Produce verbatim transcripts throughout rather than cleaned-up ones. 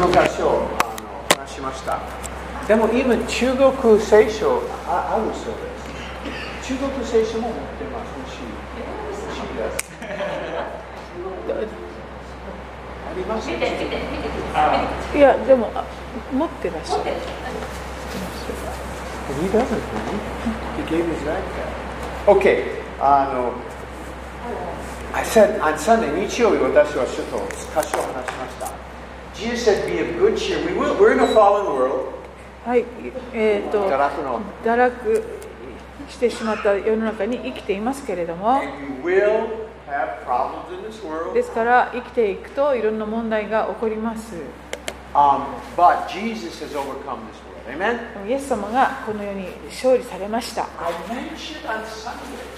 の箇所をあの話しました。でも今中国聖書 あ, あるそうです。中国聖書も持ってます。欲しい。欲しいです。ありますね。見て見て見ていやでも持ってらっしゃる。 He doesn't. He gave his backpack. Okay. あの I said on Sunday 日曜日私はちょっと箇所を話しました。Jesus said, "Be of good cheer." We will, we're in a fallen world. はい、えっ、ー、と堕落の堕落してしまった世の中に生きていますけれども、 And you will have problems in this world. ですから生きていくといろんな問題が起こります。 Um, but Jesus has overcome this world. Amen. イエス様がこの世に勝利されました。 I mentioned on Sunday,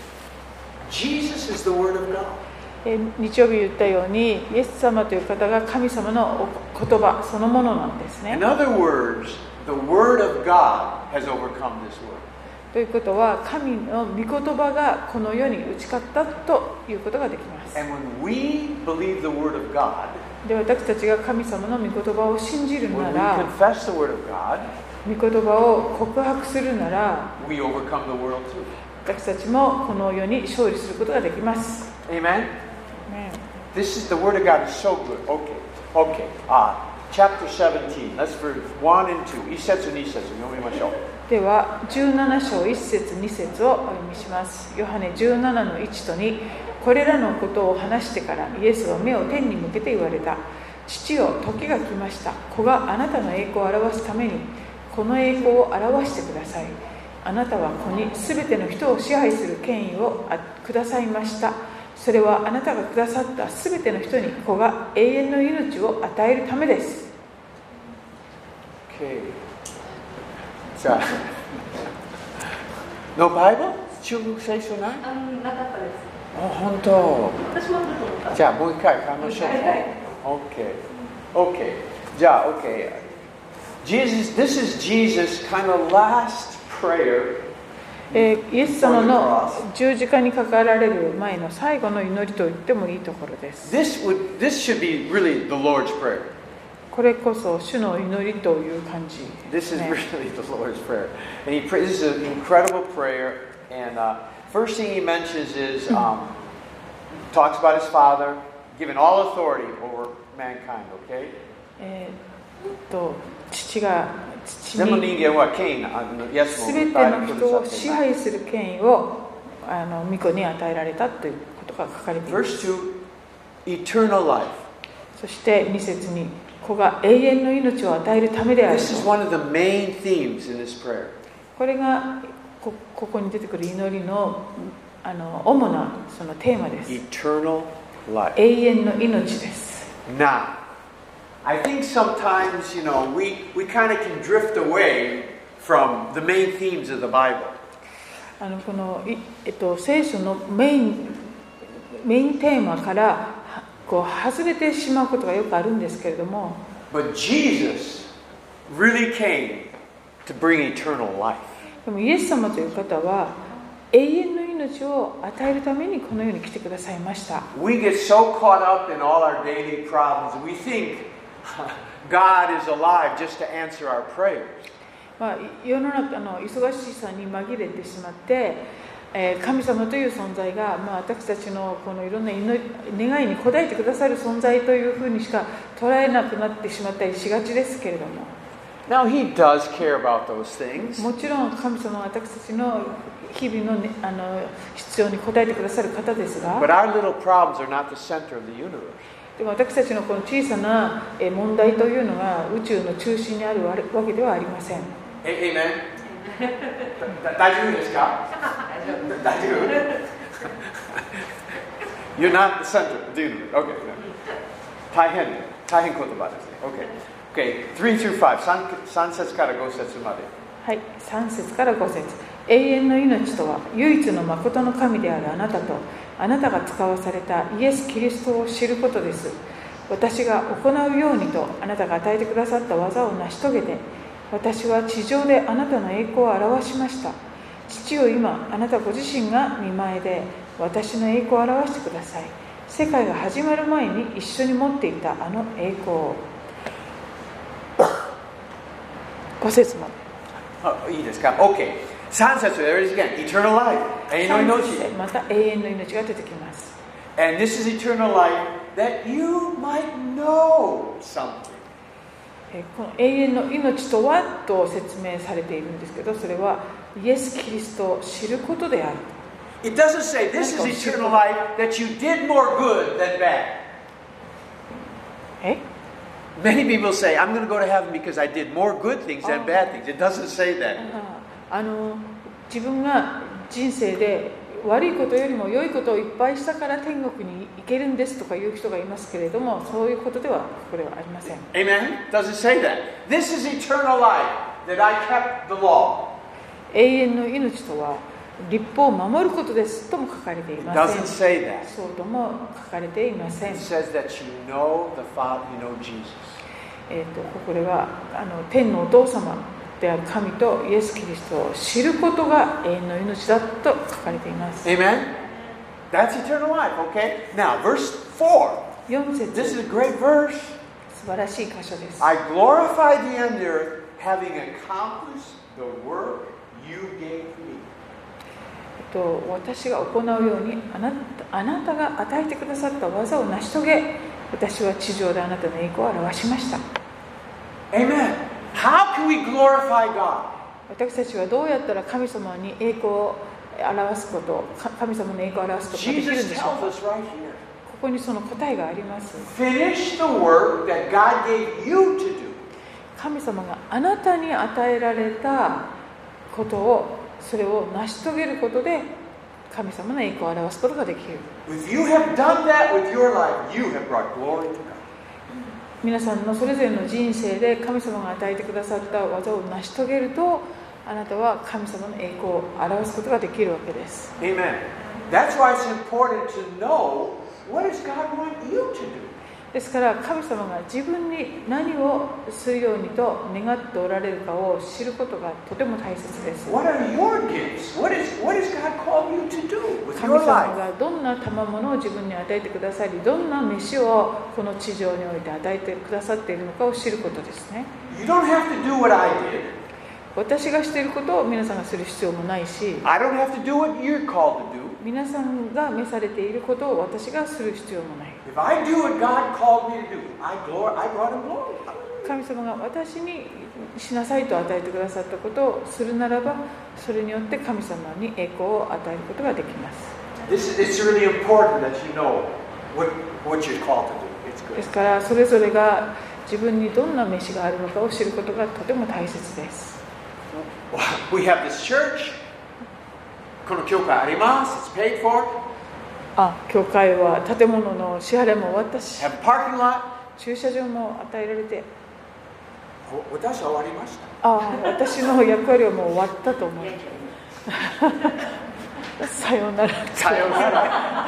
Jesus is the Word of God. 日曜日言ったように、イエス様という方が神様の言葉そのものなんですね。 In other words, the Word of God has overcome this world. ということは、神の御言葉がこの世に打ち勝ったということができます。 And when we believe the Word of God, で、私たちが神様の御言葉を信じるな when we ら、 confess the Word of God, 御言葉を告白するなら、 we overcome the world too. 私たちもこの世に勝利することができます。 Amen. This is the Word of God is so good. Okay, okay. Ah, chapter seventeen. Let's verse one and two. 一節二節読みましょう。 ではじゅうなな章いっ節に節をお読みします。ヨハネじゅうななのいちとに、これらのことを話してからイエスは目を天に向けて言われた。父よ、時が来ました。子があなたの栄光を表すためにこの栄光を表してください。あなたは子にすべての人を支配する権威をくださいました。それはあなたがくださったすべての人に子が永遠の命を与えるためです。 Okay. じゃあ、No Bible? 中国聖書ない？ あ、なかったです。 あ、本当。 私もあると思った。 じゃあもう一回買いましょう。 はいはい。 Okay. Okay. じゃあ Okay. Jesus, this is Jesus' kind of last prayer. えー、イエス様の十字架にかかられる前の最後の祈りと言ってもいいところです。 This would, this should be really the Lord's prayer. これこそ主の祈りという感じですね。 This is really the Lord's prayer. And he prays, this is an incredible prayer. And uh, first thing he mentions is, um, talks about his Father, giving all authority over mankind, okay? えー、と父が父全部に人間は権威、あのイエスも全ての人を支配する権威をあの御子に与えられたということが書かれています。 Verse two, eternal life. そしてに節に子が永遠の命を与えるためである。 This is one of the main themes in this prayer. これが こ, ここに出てくる祈り の, あの主なそのテーマです。 Eternal life. 永遠の命です。 Now, I think sometimes, you know, we, we kind of can drift away from the main themes of the Bible. あのこの、えっと、聖書のメイン、メインテーマからこう外れてしまうことがよくあるんですけれども、 But Jesus really came to bring eternal life. でもイエス様という方は永遠の命を与えるためにこの世に来てくださいました。 We get so caught up in all our daily problems, we think God is alive just to answer our prayers. まあ、世の中の忙しさに紛れてしまって、えー、神様という存在が、まあ、私たちのこのいろんな祈り願いに応えてくださる存在というふうにしか捉えなくなってしまったりしがちですけれども、 Now He does care about those things. もちろん神様は私たちの日々の、ね、あの必要に応えてくださる方ですが、 But our little problems are not the center of the universe. でも私たちのこの小さな問題というのが宇宙の中心にあるわけではありません。 Amen. 大丈夫ですか？大丈夫？ You're not the center of the universe. Okay. 大変、大変言葉ですね。Okay. Okay. three through five. さん節からご節まで。 はい、さん節からご節。永遠の命とは唯一の誠の神であるあなたとあなたが使わされたイエス・キリストを知ることです。私が行うようにとあなたが与えてくださった技を成し遂げて、私は地上であなたの栄光を表しました。父よ、今あなたご自身が御前で私の栄光を表してください。世界が始まる前に一緒に持っていたあの栄光を。 ご節まで。 あ、いいですか ?OK。さん節、there it is again. Eternal life. 永遠の命。 また永遠の命が出てきます。 And this is eternal life that you might know something. この永遠の命とはと説明されているんですけど、それはイエス・キリストを知ることである。 It doesn't say this is eternal life that you did more good than bad. え Many people say, I'm going to go to heaven because I did more good things than bad things. It doesn't say that. あの自分が人生で悪いことよりも良いことをいっぱいしたから天国に行けるんですとかいう人がいますけれども、そういうことではこれはありません。 Amen? Doesn't say that. This is eternal life that I kept the law. 永遠の命とは律法を守ることですとも書かれていません。 It doesn't say that. そうとも書かれていません。 It says that you know the Father, you know Jesus. えーとこれはあの天のお父様である神とイエス・キリストを知ることが永遠の命だと書かれています。 Amen? That's eternal life, okay? Now, verse four. よん節、 This is a great verse. 素晴らしい箇所です。 I glorify the end earth, having accomplished the work you gave me. と私が行うようにあなた、あなたが与えてくださった技を成し遂げ、私は地上であなたの栄光を表しました。 Amen. How can we glorify God? 私たちはどうやったら神様に栄光を表すこと、神様の栄光を表すことができるん Jesus でしょ tells うか。 us right here. ここにその答えがあります。 Finish the work that God gave you to do. 神様があなたに与えられたことを、それを成し遂げることで神様の栄光を表すことができる。 If you have done that with your life, you have brought glory to God. 皆さんのそれぞれの人生で神様が与えてくださった技を成し遂げると、あなたは神様の栄光を表すことができるわけです。 Amen. That's why it's important to know what does God want you to do. ですから神様が自分に何をするようにと願っておられるかを知ることがとても大切です。 What are your gifts? What is what has God called you to do with 神 your 様 life? がどんな賜物を自分に与えてくださり、どんな飯をこの地上において与えてくださっているのかを知ることですね。 You don't have to do what I did. 私がしていることを皆さんがする必要もないし、 I don't have to do what you're called to do. 皆さんが召されていることを私がする必要もない。 If I do what God called me to do, I glor- I brought Him glory. 神様が私にしなさいと与えてくださったことをするならば、それによって神様に栄光を与えることができます。 This is, it's really important that you know what, what you're called to do. It's で good. すからそれぞれが自分にどんな飯があるのかを知ることがとても大切です。 We have this church. この教会あります。It's paid for. あ、教会は建物の支払いも終わったし、 Have a parking lot. 駐車場も与えられて、 私は終わりました。 あ、私の役割はもう終わったと思う。さようなら。 さようなら。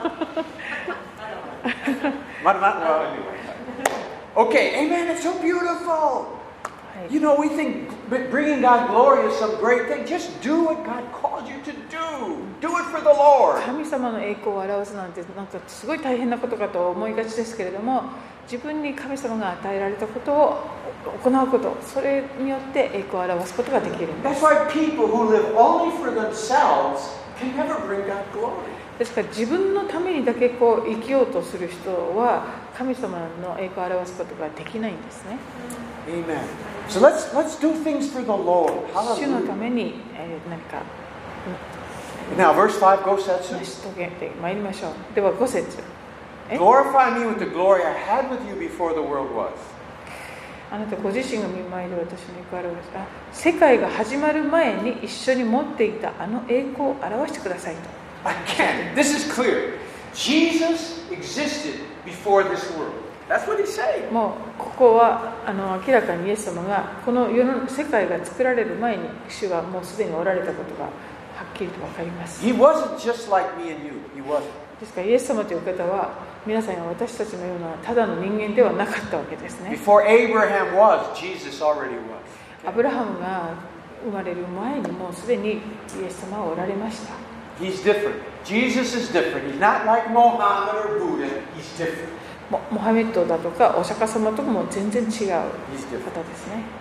まだまだ。Okay, amen. It's so beautiful. You know, we think bringing God glory is some great thing. Just do what God called you to do. Do it for the Lord. 神様の栄光を表すなんてなんかすごい大変なことかと思いがちですけれども、自分に神様が与えられたことを行うこと、それによって栄光を表すことができるんです。 That's why people who live only for themselves can never bring God glory. ですから自分のためにだけこう生きようとする人は神様の栄光を表すことができないんですね。 Amen. So let's let's do things for the Lord. 主のた Hallelujah. めに、えー、何か Now, verse five, go setsu. 成し遂げてまいりましょう。ではご節。え Glorify me with the glory I had with you before the world was. あなたご自身が見舞いで私の栄光を表す。あ、世界が始まる前に一緒に持っていたあの栄光を表してくださいと。 Again, this is clear. Jesus existed before this world. That's what he's saying. もうここはあの明らかにイエス様がこの世の世界が作られる前に主はもうすでにおられたことがはっきりと分かります。 He wasn't just like me and you. He wasn't. ですからイエス様という方は皆さんや私たちのようなただの人間ではなかったわけですね。 Before Abraham was, Jesus already was. アブラハムが生まれる前にもうすでにイエス様はおられました。 He's different. Jesus is different. He's not like Muhammad or Buddha. He's different. モハメッドだとかお釈迦様とかも全然違う方ですね。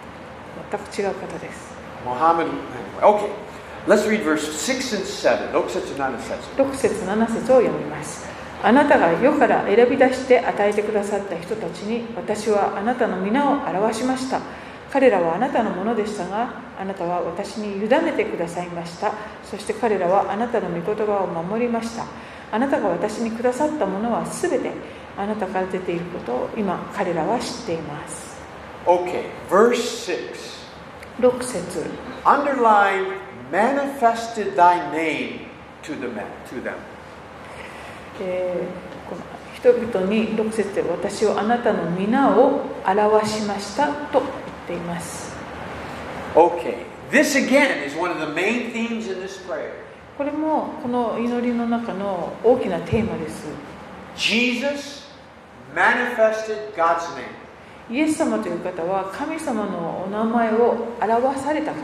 全く違う方です。 Muhammad, okay, let's read verse six and seven. ろく節なな節。 ろく節なな節を読みます。あなたが世から選び出して与えてくださった人たちに、私はあなたの皆を表しました。彼らはあなたのものでしたが、あなたは私に委ねてくださいました。そして彼らはあなたの御言葉を守りました。あなたが私にくださったものはすべてあなたから出ていることを今彼らは知っています。 Okay, verse six. ろく節。 Underline manifested thy name to the men, to them. えー、この人々にろく節で私をあなたの皆を表しましたと言っています。 Okay, this again is one of the main themes in this prayer. これもこの祈りの中の大きなテーマです。 Jesus manifested God's name. イエス様という方は神様のお名前を表された方なんです。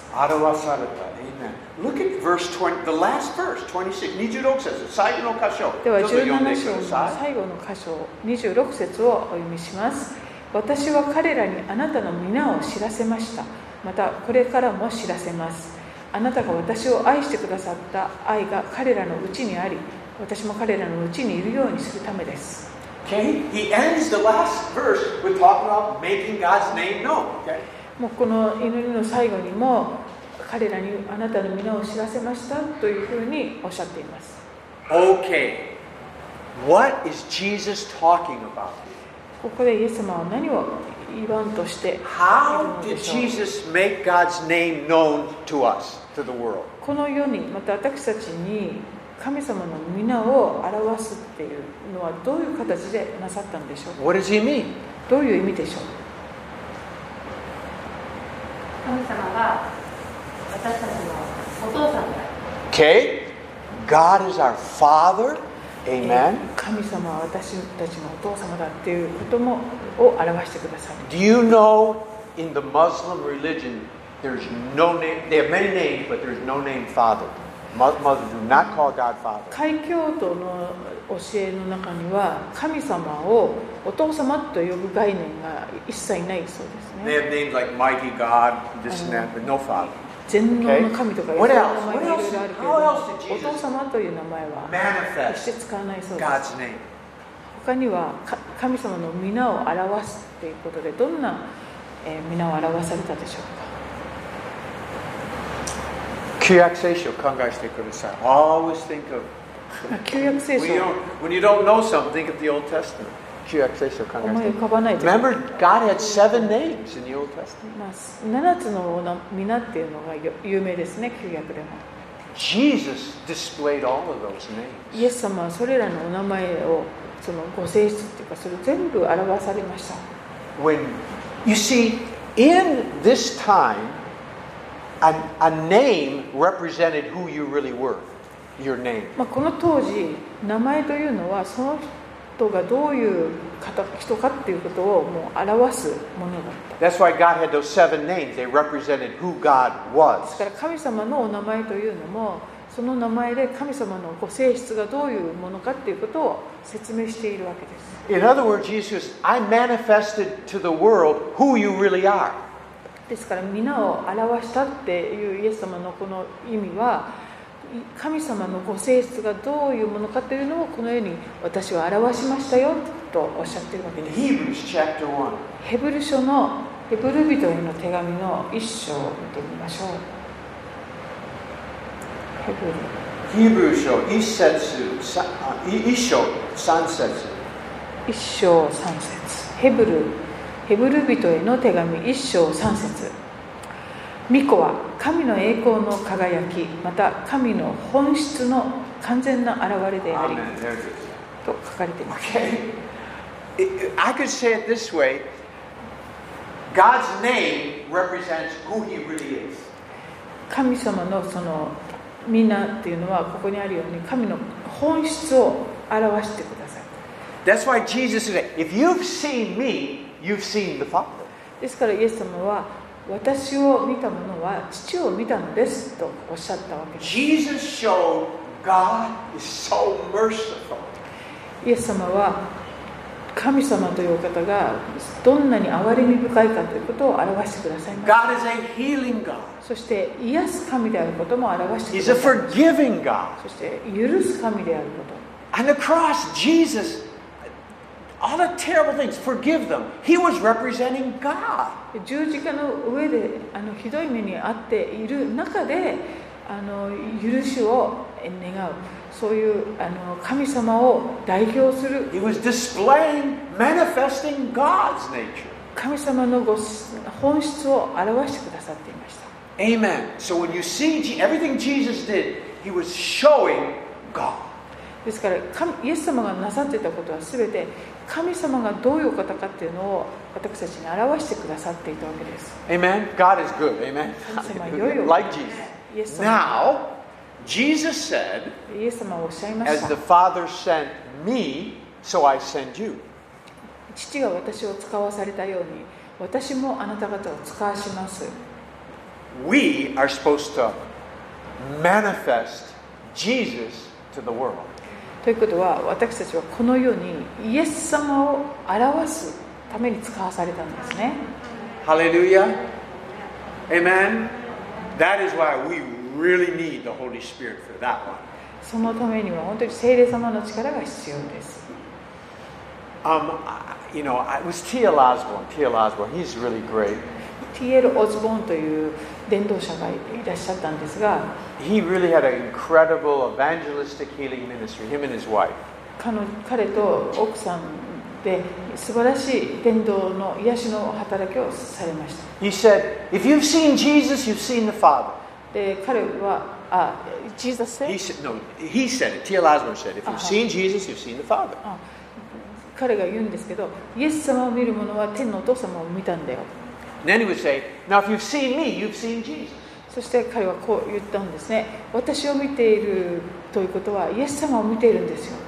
表された。Amen. Look at verse twenty, the last verse, twenty-six, にじゅうろく節、最後の箇所。 ではじゅうなな章の最後の箇所、にじゅうろく節をお読みします。私は彼らにあなたの皆を知らせました。またこれからも知らせます。あなたが私を愛してくださった愛が彼らのうちにあり、私も彼らのうちにいるようにするためです。 Okay, he ends the last verse with talking about making God's name known. Okay? もうこの祈りの最後にも彼らにあなたの皆を知らせましたというふうにおっしゃっています。 Okay, what is Jesus talking about? ここでイエス様は何を言わんとしている How ので did しょう。 Jesus make God's name known to us, to the world? この世にまた私たちに神様の皆を表すっていうのはどういう形でなさったんでしょうか。 What does he mean? どういう意味でしょう。 神様が私たちのお父さんだ。 Okay, God is our Father. え Amen. ー神様は私たちのお父様だっていうこともを表してくださる。 Do you know in the Muslim religion there's no name, they have many names, but there's no name Father. Muslims do not call God Father. 開教徒の教えの中には神様をお父様と呼ぶ概念が一切ないそうです They ね。 have names like Mighty God, this and that, but no Father. 全能の神とかいろん What な else? 名前がいろいろあるけれ What ど else did お Jesus 父様という名前は manifest 決して使わないそうです。 God's name? 他にはか神様の皆を表すということでどんな、えー、皆を表されたでしょうか。 旧約聖書を考えてください。Always think of 旧約聖書 when you don't, when you don't know something, think of the Old Testament. 旧約聖書を考思いえて浮かばないです。 Remember, God had seven names in the Old Testament. まあ、ななつの皆っていうのが有名ですね、旧約でも。 Jesus displayed all of those names. イエス様はそれらのお名前をそのご性質っていうかそれ全部表されました。 When you see, in this time, a, a name represented who you really were. Your name. まあ、この当時名前というのはその人がどういう方人かっていうことをもう表すものだった。 That's why God had those seven names. They represented who God です was. から神様のお名前というのもその名前で神様のご性質がどういうものかっていうことを説明しているわけです。 In other words, Jesus says, I manifested to the world who you really are. ですから皆を表したっていうイエス様のこの意味は神様のご性質がどういうものかというのをこのように私は表しましたよとおっしゃっているわけ In です。 Hebrews chapter one, ヘブル書のヘブル人への手紙の一章を見てみましょう。ヘブル Hebrews 書一節、さあ一章三節。 一章三節。ヘブルヘブル人への手紙一章三節。御子は神の栄光の輝き、また神の本質の完全な現れであり Amen. There it is. と書かれています。 Okay. I could say it this way. God's name represents who He really is. 神様のその皆っていうのはここにあるように神の本質を表してください。 That's why Jesus said, if you've seen me, you've seen the Father. ですからイエス様は私を見た者は父を見たのですとおっしゃったわけです。 Jesus showed God is so merciful. イエス様は神様というお方がどんなに憐れみ深いかということを表してくださいました。 God is a healing God. そして癒す神であることも表してく He's だ a さい。 forgiving God. そして許す神であること。 On the cross, Jesus, all the terrible things, forgive them. He was representing God. 十字架の上であのひどい目に遭っている中であの許しを願う、そういうあの神様を代表する He was displaying, manifesting God's nature. 神様のご本質を表してくださっていました。 Amen. So when you see everything Jesus did, He was showing God. ですから神イエス様がなさっていたことは全て神様がどういうお方かっていうのを私たちに表してくださっていたわけです。 Amen. God is good. Amen. 神様良いお方 Like です Jesus. イエス様 Now, Jesus said, イエス様はおっしゃいまし As た。 the Father sent me, so I send you. 父が私を使わされたように私もあなた方を使わします。 We are supposed to manifest Jesus to the world. ということは私たちはこの世にイエス様を表すために使わされたんですね。 Hallelujah. Amen. That is why we really need the Holy Spirit for that one. そのためには本当に聖霊様の力が必要です。 Um, you know, it was T L Osborne. T L Osborne, he's really great. ティーエル オズボーンという伝道者がいらっしゃったんですが、 He really had an incredible evangelistic healing ministry, him and his wife. 彼の彼と奥さんで素晴らしい伝道の癒しの働きをされました。 He said, if you've seen Jesus, you've seen the Father. で彼はあ、Jesus He said? said, no, he said it. T L Osborne said, if you've seen Jesus, you've seen the Father. あ彼が言うんですけど、イエス様を見る者は天のお父様を見たんだよ。 And then he would say, now if you've seen me, you've seen Jesus. そして彼はこう言ったんですね。私を見ているということはイエス様を見ているんですよ。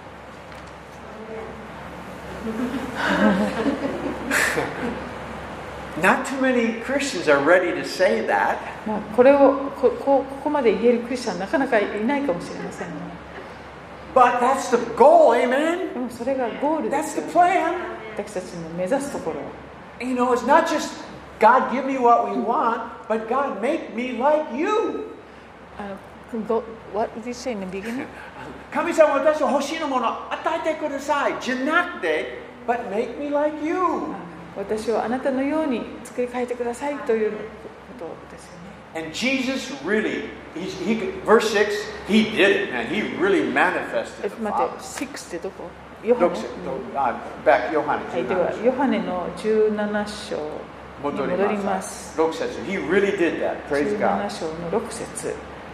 Not too many Christians are ready to say that. まあこれをここここまで言えるクリスチャンなかなかいないかもしれませんね。 But that's the goal, amen? でもそれがゴールで That's す the よ。 plan. 私たちの目指すところ。 You know, it's not just God give me what we want, but God make me like you. あの Go, what did you say in the beginning? 神様私は欲しいものを与えてくださいじゃなくて but make me like you. 私をあなたのように作り変えてくださいということですよね。 And Jesus really, he, he, verse six, he did it, man. He really え manifested the 待 Father. って、シックスってどこ？ヨハネ。 Look, uh, back, ヨハネはい、ではヨハネのじゅうなな章に戻ります。 ろく節 He really did that. Praise じゅうなな God. 章のろく節。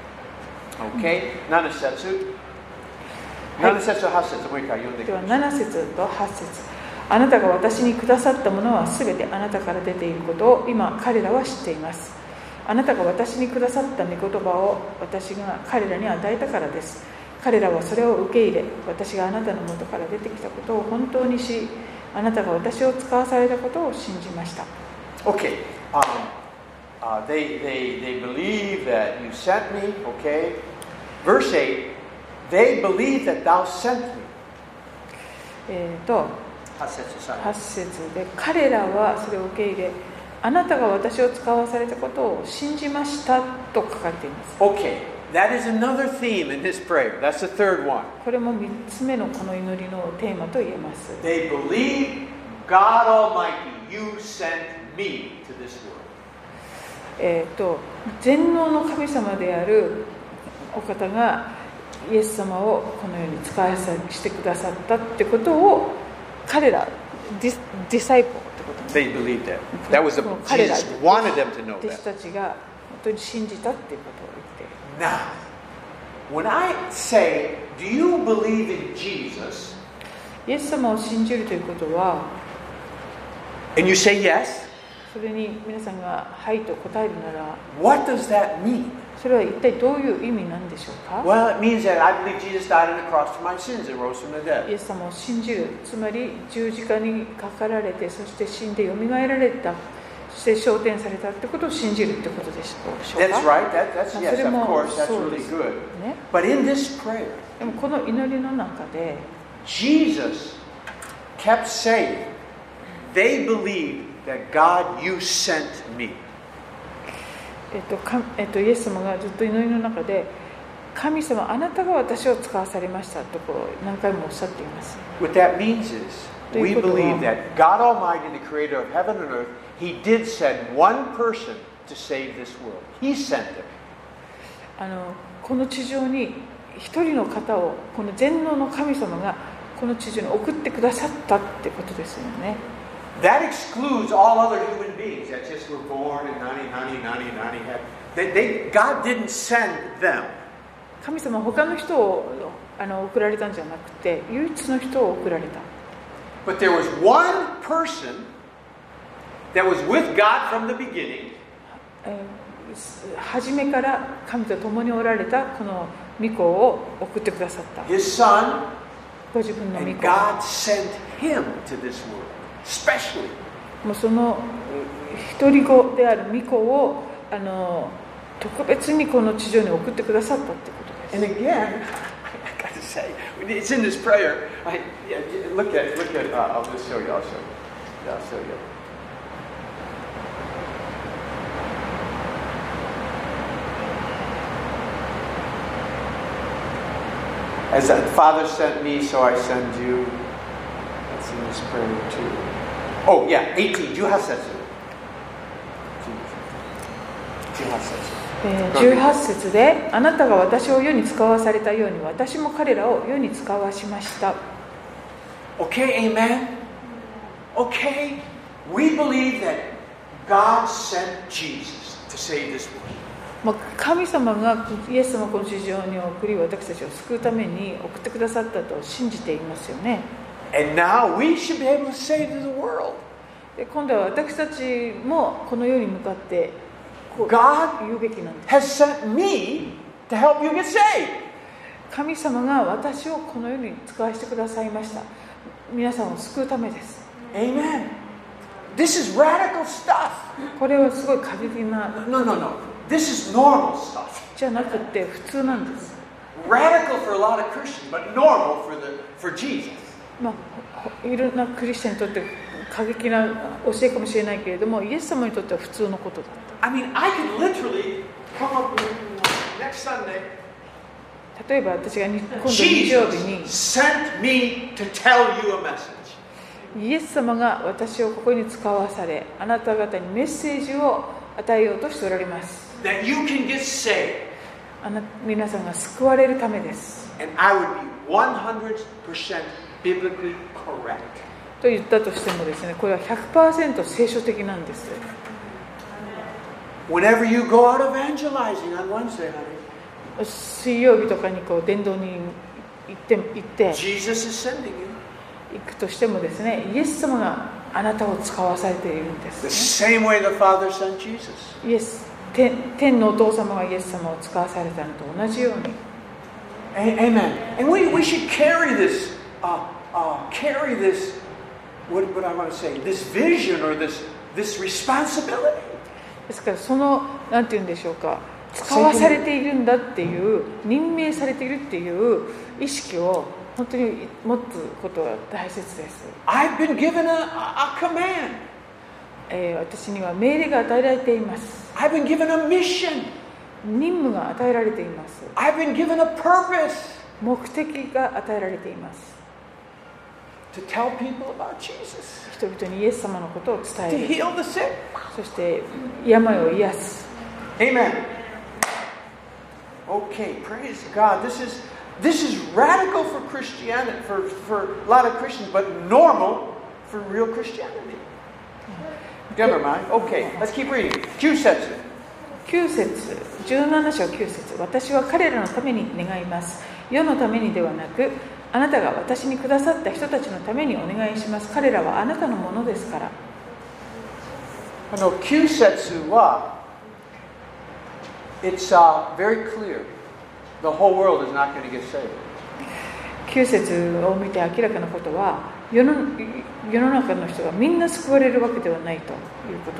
Okay? なな節なな節はち節もう一回読んでくではださい。 なな節とはち節。あなたが私にくださったものはすべてあなたから出ていることを今彼らは知っています。あなたが私にくださった御言葉を私が彼らに与えたからです。彼らはそれを受け入れ、私があなたの元から出てきたことを本当にし、あなたが私を使わされたことを信じました。 Okay. Um, uh, they, they, they believe that you sent me. Okay. Verse eight. They believe that thou sent me. えーと、 はち節さんはち節で、彼らはそれを受け入れ、あなたが私を使わされたことを信じましたと書かれています。 Okay. That is another theme in his prayer. That's the third one. これもみっつめのこの祈りのテーマと言えます。 They believe God Almighty, you sent me to this world. えーと、全能の神様であるお方がイエス様をこのように使わさしてくださったってことを彼らディディサイポーってことです。 They believed that. That was the, 彼ら Jesus wanted them to know 弟子 that. たちが本当に信じたっていうことを言っている。 Now, when I say, do you believe in Jesus? イエス様を信じるということは、 And you say yes? それに皆さんがはいと答えるなら、 What does that mean? それは一体どういう意味なんでしょうか？ Well, it means that I believe Jesus died on the cross for my sins and rose from the イ dead. エス様を信じる、つまり十字架にかかられて、そして死んでよみがえられた、そして昇天されたってことを信じるってことでしょうか？ That's right. That, that's yes, of それも course. That's そう really です good. ね。 But in this prayer, でもこの祈りの中で、 Jesus kept saying, they believed that God, you sent me. えっとかえっと、イエス様がずっと祈りの中で、神様、あなたが私を使わされましたとこう何回もおっしゃっています。 What that means is, we believe that God Almighty, the creator of heaven and earth, He did send one person to save this world. He sent them. あのこの地上に一人の方を、この全能の神様がこの地上に送ってくださったってことですよね。 That excludes all other human beings that just were born and nani, nani, nani, nani had. They, they, God didn't send them. 神様は他の人をあの送られたんじゃなくて、唯一の人を送られた。 But there was one person that was with God from the beginning. 初めから神と共におられたこの御子を送ってくださった。 His son, ご自分の御 and 子。 God sent him to this world, especially. もうその一人子である御子をあの特別にこの地上に送ってくださったってことです。 And again, I got to say, it's in this prayer. I, yeah, look at, look at. Uh, I'll just show you. I'll show you. Yeah, I'll show you. As the Father sent me, so I send you. That's in this prayer too. Oh yeah, eighteen. じゅうはち節。じゅうはち節。 じゅうはち節で、あなたが私を世に使わされたように、私も彼らを世に使わしました。 Okay, amen. Okay, we believe that God sent Jesus to save this world. 神様がイエス様をこの地上に送り、私たちを救うために送ってくださったと信じていますよね。 And now we should be able to say to the world. で、今度は私たちもこの世に向かってこう God 言うべきなんです。 has sent me to help you get saved. 神様が私をこの世に使わせてくださいました。皆さんを救うためです。 Amen. This is radical stuff. これはすごい過激な No, no, no. This is normal stuff. じゃなくて普通なんです。 Radical for a lot of Christians, but normal for the for Jesus. まあ、いろんなクリスチャンにとって過激な教えかもしれないけれども、イエス様にとっては普通のことだった。 I mean, I could literally come up with next Sunday. 例えば私が今度日曜日 Jesus に sent me to tell you a message. イエス様が私をここに使わされ、あなた方にメッセージを与えようとしておられます。 That you can get saved. あな皆さんが救われるためです。 And I would be one hundred percent biblically correct. と言ったとしてもですね、これは ひゃくパーセント 聖書的なんです。 Whenever you go out evangelizing on Wednesday, honey, 水曜日とかにこう伝道に行って行って Jesus is sending you. 行くとしてもですね、イエス様があなたを使わされているんで The す、 same way the Father sent Jesus. ね、イエス 天, 天のお父様がイエス様を使わされたのと同じように。 Amen. And we, we should carry this, uh, uh, carry this, what, what I want to say, this vision or this, this responsibility. ですからそのなんていうんでしょうか、使わされているんだっていう、任命されているっていう意識を本当に持つことは大切です。 I've been given a, a command. えー、私には命令が与えられています。 I've been given a mission. 任務が与えられています。 I've been given a purpose. 目的が与えられています。 To tell people about Jesus. 人々にイエス様のことを伝 To える。 heal the sick. そして病を癒す。 Amen. Okay, praise God. This is this is radical for Christianity, for, for a lot of Christians, but normal for real Christianity. Never mind. Okay, let's keep reading. きゅう節。 きゅう節、じゅうなな章きゅう節。私は彼らのために願います。世のためにではなく、あなたが私にくださった人たちのためにお願いします。彼らはあなたのものですから。 あのきゅう節は、It's、uh, very clear. The whole world is not going to get saved. きゅう節を見て明らかなことは、世の、世の中の人がみんな救われるわけではないということ。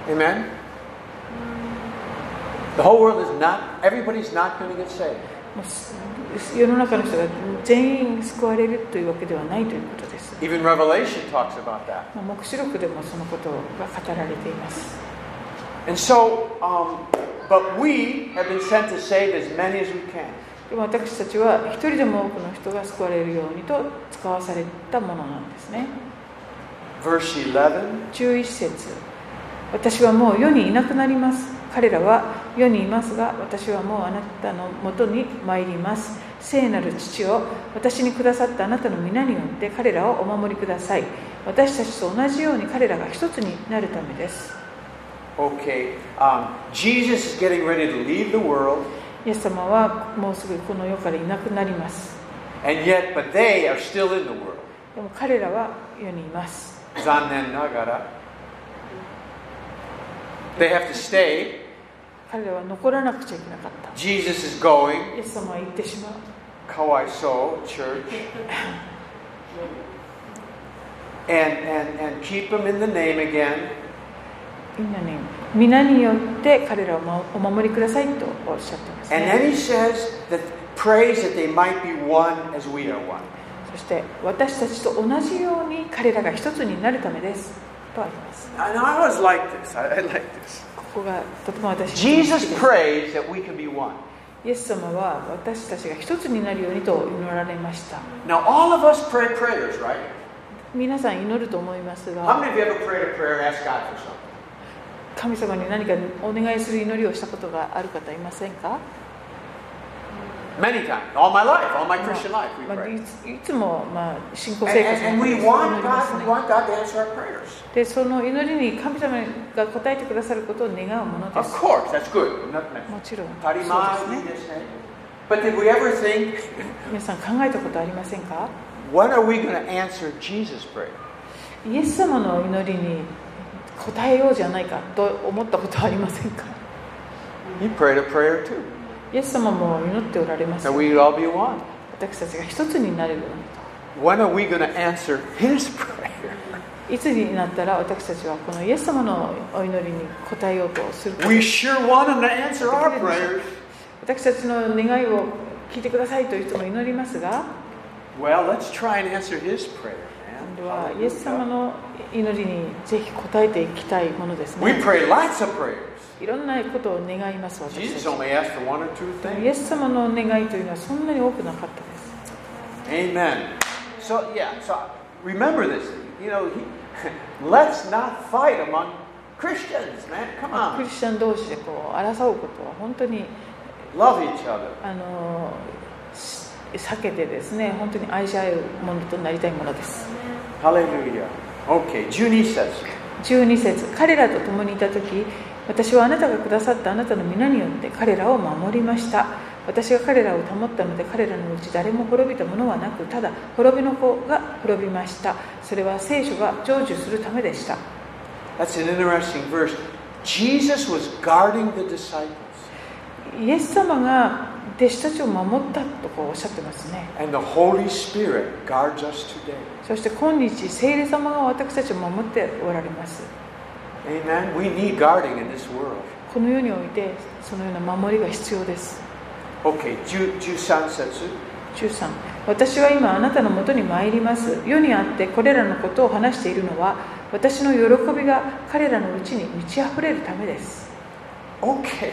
Amen? The whole world is not, everybody's not going to get saved. 世の中の人が全員救われるというわけではないということです。 Even Revelation talks about that. 黙示録でもそのことが語られています。 And so, um, but we have been sent to save as many as we can. でも私たちは一人でも多くの人が救われるようにと使わされたものなんですね。 Verse eleven. じゅういち節、私はもう世にいなくなります。彼らは世にいますが、私はもうあなたのもとに参ります。聖なる父を私にくださったあなたの皆によって彼らをお守りください。私たちと同じように彼らが一つになるためです。 Okay, um, Jesus is getting ready to leave the world. イエス様はもうすぐこの世からいなくなります。 And yet, but they are still in the world. でも彼らは世にいます。 残念ながら They have to stay. 彼らは残らなくちゃいけなかった。 Jesus is going. イエス様は行ってしまう。 かわいそう、church. And, and, and keep them in the name again. みんなに皆によって彼らをお守りくださいとおっしゃっています、ね。 And then he says that prays that they might be one as we are one. そして私たちと同じように彼らが一つになるためですとあります。 And I always like this. I, I like this. ここがとても私たち Jesus prays that we can be one. イエス様は私たちが一つになるようにと祈られました。 Now all of us pray prayers, right? 皆さん祈ると思いますが、 How many of you ever prayed a prayer and asked God for something? 神様に何かお願いする祈りをしたことがある方いませんか？ Many times, all my life, all my Christian life, we まあ、 pray. いつ, いつも、まあ、信仰 And, 生活 and, の and 中 we で want 祈ります God, we ね。 want God to answer our prayers. で、その祈りに神様が答えてくださることを願うもので Of す。 course, that's good. Not もちろん、 当たり前そうですね。 ですね。But did we ever think, 皆さん考えたことありませんか？ when are we going to answer Jesus' prayer? イエス様の祈りに答えようじゃないかと思ったことはありませんか？ He prayed a prayer too. イエス様も祈っておられます That よ。 we'd all be one. 私たちが一つになれるように When are we going to answer His prayer? と。いつになったら私たちはこのイエス様のお祈りに応えようとするか。 We sure want Him to answer our prayers. 私たちの願いを聞いてくださいといつも祈りますが、 Well, let's try and answer His prayer, 今度は man. イエス様の祈りにぜひ応えていきたいものです We ね。 pray lots of prayers. いろんなことを願います私 Jesus たち。 only asked for one or two でもイ things. エス様の願いというのはそんなに多くなかったです。 Amen. So, yeah, so remember this. You know, he, let's not fight among Christians, man. Come ク on. リスチャン同士でこう争うことは本当に Love each other. あの避けてですね、本当に愛し合うものとなりたいものです。 Hallelujah. Okay, じゅうに節。 じゅうに節、彼らと共にいたとき、私はあなたがくださったあなたの皆によって彼らを守りました。私が彼らを保ったので、彼らのうち誰も滅びたものはなく、ただ滅びの子が滅びました。それは聖書が成就するためでした。 That's an interesting verse. Jesus was guarding the disciples. イエス様が弟子たちを守ったとこうおっしゃってますね。 And the Holy Spirit guards us today. そして今日、聖霊様が私たちを守っておられます。 Amen. We need guarding in this world. この世においてそのような守りが必要です。 Okay, じゅうさん節。 じゅうさん、私は今あなたのもとに参ります。世にあってこれらのことを話しているのは、私の喜びが彼らのうちに満ち溢れるためです。 Okay.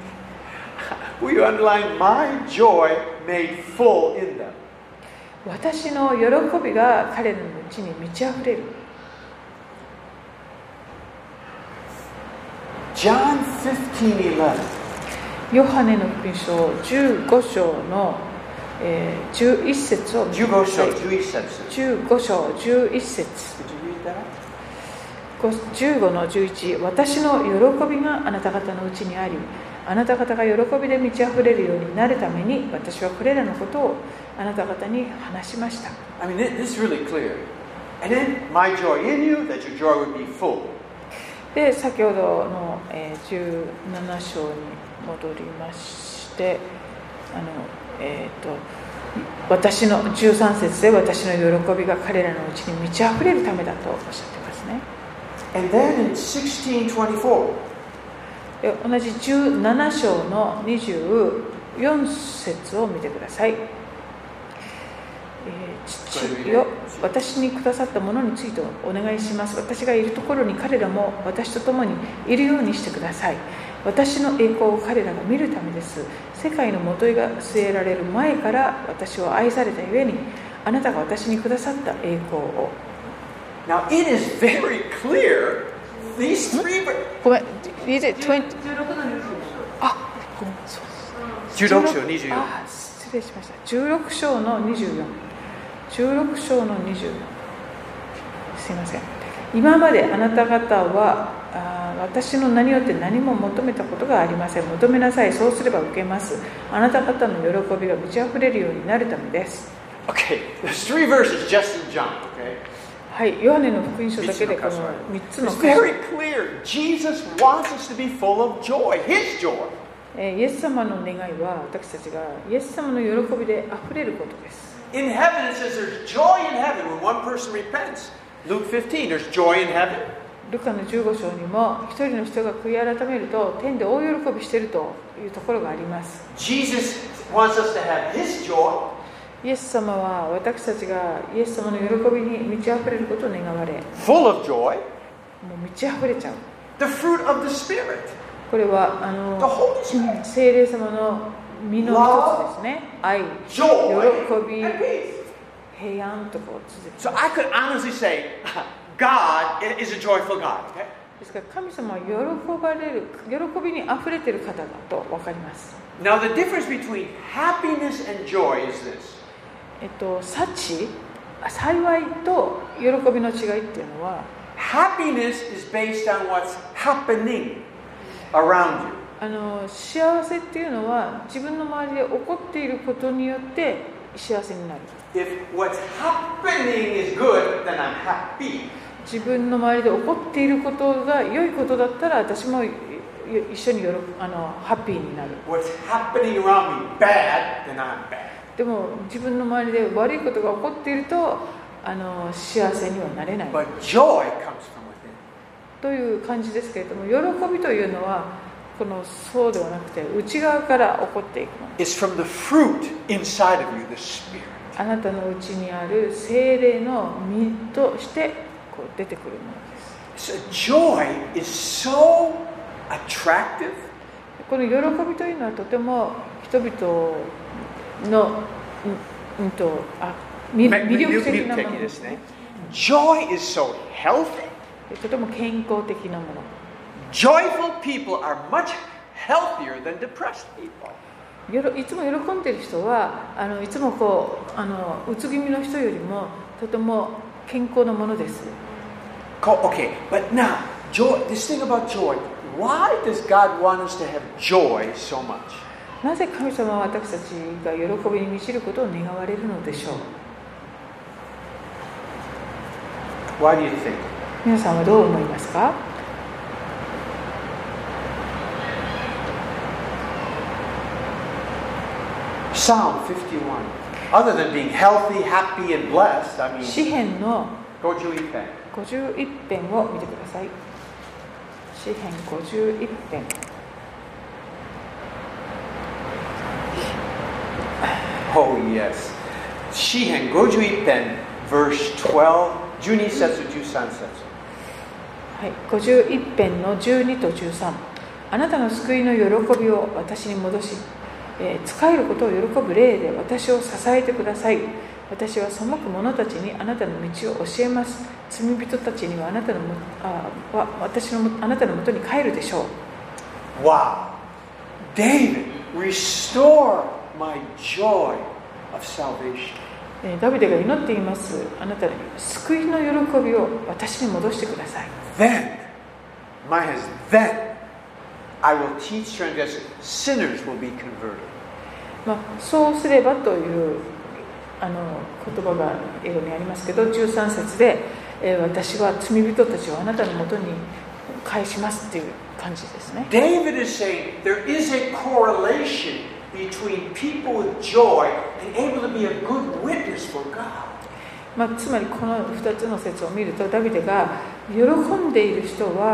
We underline my joy made full in them. 私の喜びが彼らのうちに満ち溢れる。 John fifteen eleven. ヨハネの福音書じゅうご章の、えー、じゅういち節を見てください。 じゅうご章じゅういち節。 じゅうご章じゅういち節。 Did you read that? じゅうごのじゅういち、私の喜びがあなた方のうちにあり、あなた方が喜びで満ち溢れるようになるために、私はこれらのことをあなた方に話しました。 I mean, this is really clear. And then my joy in you, that your joy would be full. で、先ほどの、えー、じゅうなな章に戻りまして、あの、えーと、私のじゅうさん節で私の喜びが彼らのうちに満ち溢れるためだとおっしゃってますね。 And then in sixteen twenty-four. 同じじゅうなな章のにじゅうよん節を見てください。えー、父よ、私にくださったものについてお願いします。私がいるところに彼らも私と共にいるようにしてください。私の栄光を彼らが見るためです。世界のもといが据えられる前から私を愛されたゆえに、あなたが私にくださった栄光を。 Now it is very clear, these three... ごめん、じゅうろくのにじゅうよん。あ、ごめん、そうです。 じゅうろく章にじゅうよん。 あ、失礼しました。じゅうろく章のにじゅうよん。じゅうろく章のにじゅうよん。すいません。今まであなた方はあ私の名によって何も求めたことがありません。求めなさい。そうすれば受けます。あなた方の喜びが満ち溢れるようになるためです。 Okay, there's three verses just in John, okay? はい、ヨハネの福音書だけでこのみっつの It's very clear. Jesus wants us to be full of joy, His joy. イエス様の願いは私たちがイエス様の喜びであふれることです。 In heaven it says there's joy in heaven when one person repents. Luke fifteen, there's joy in heaven. ルカのじゅうご章にも一人の人が悔い改めると天で大喜びしているというところがあります。 Jesus wants us to have His joy. イエス様は私たちがイエス様の喜びに満ち溢れることを願われ、 Full of joy. もう満ち溢れちゃう。 The fruit of the Spirit. これはあの The Holy Spirit. 聖霊様の実の一つですね。愛、喜 Joy び、 and peace. 平安とこう続く。 So I could honestly say, God is a joyful God. Okay? ですから神様は喜ばれる、喜びにあふれている方だと分かります。 Now the difference between happiness and joy is this. えっと、幸、幸いと喜びの違いっていうのは、 Happiness is based on what's happening around you. あの幸せっていうのは自分の周りで起こっていることによって幸せになる。 If what's happening is good, then I'm happy. 自分の周りで起こっていることが良いことだったら私も一緒によろあのハッピーになる。 What's happening around me bad, then I'm bad. でも自分の周りで悪いことが起こっているとあの幸せにはなれない But joy comes from within. という感じですけれども、喜びというのはこのそうではなくて内側から起こっていくもの。 It's from the fruit inside of you, the Spirit. あなたの内にある聖霊の実としてこう出てくるものです。 So joy is so attractive. この喜びというのはとても人々の、うん、うんとあ魅力的なものですね。 Joy is so healthy. とても健康的なもの。 Joyful people are much healthier than depressed people. よろいつも喜んでいる人はあのいつもこうあのうつ気味の人よりもとても健康なものです。 Okay, but now, joy, this thing about joy, why does God want us to have joy so much? なぜ神様は私たちが喜びに満ちることを願われるのでしょう。 Why do you think? 皆さんはどう思いますか？ Psalm fifty-one. Other than being healthy, happy, and blessed, I mean, 詩編のごじゅういち編。 ごじゅういち編を見てください。詩編ごじゅういち編。 Oh, yes. 詩編ごじゅういち編 verse twelve, じゅうに節、じゅうさん節。 はい、ごじゅういち編のじゅうにとじゅうさん。あなたの救いの喜びを私に戻し、えー、仕えることを喜ぶ霊で私を支えてください。私は背く者たちにあなたの道を教えます。罪人たちにはあなたのもあは私のあなたのもとに帰るでしょう。 Wow. David, restore my joy of salvation. ダビデが祈っています。あなたに救いの喜びを私に戻してください。 Then, my has then I will teach transgressors. Sinners will be converted. まあ、そうすればというあの言葉が英語にありますけど、じゅうさん節で、えー、私は罪人たちをあなたのもとに返しますっていう感じですね。 David is saying there is a correlation between people with joy and able to be a good witness for God. まあ、つまりこのふたつの説を見るとダビデが喜んでいる人は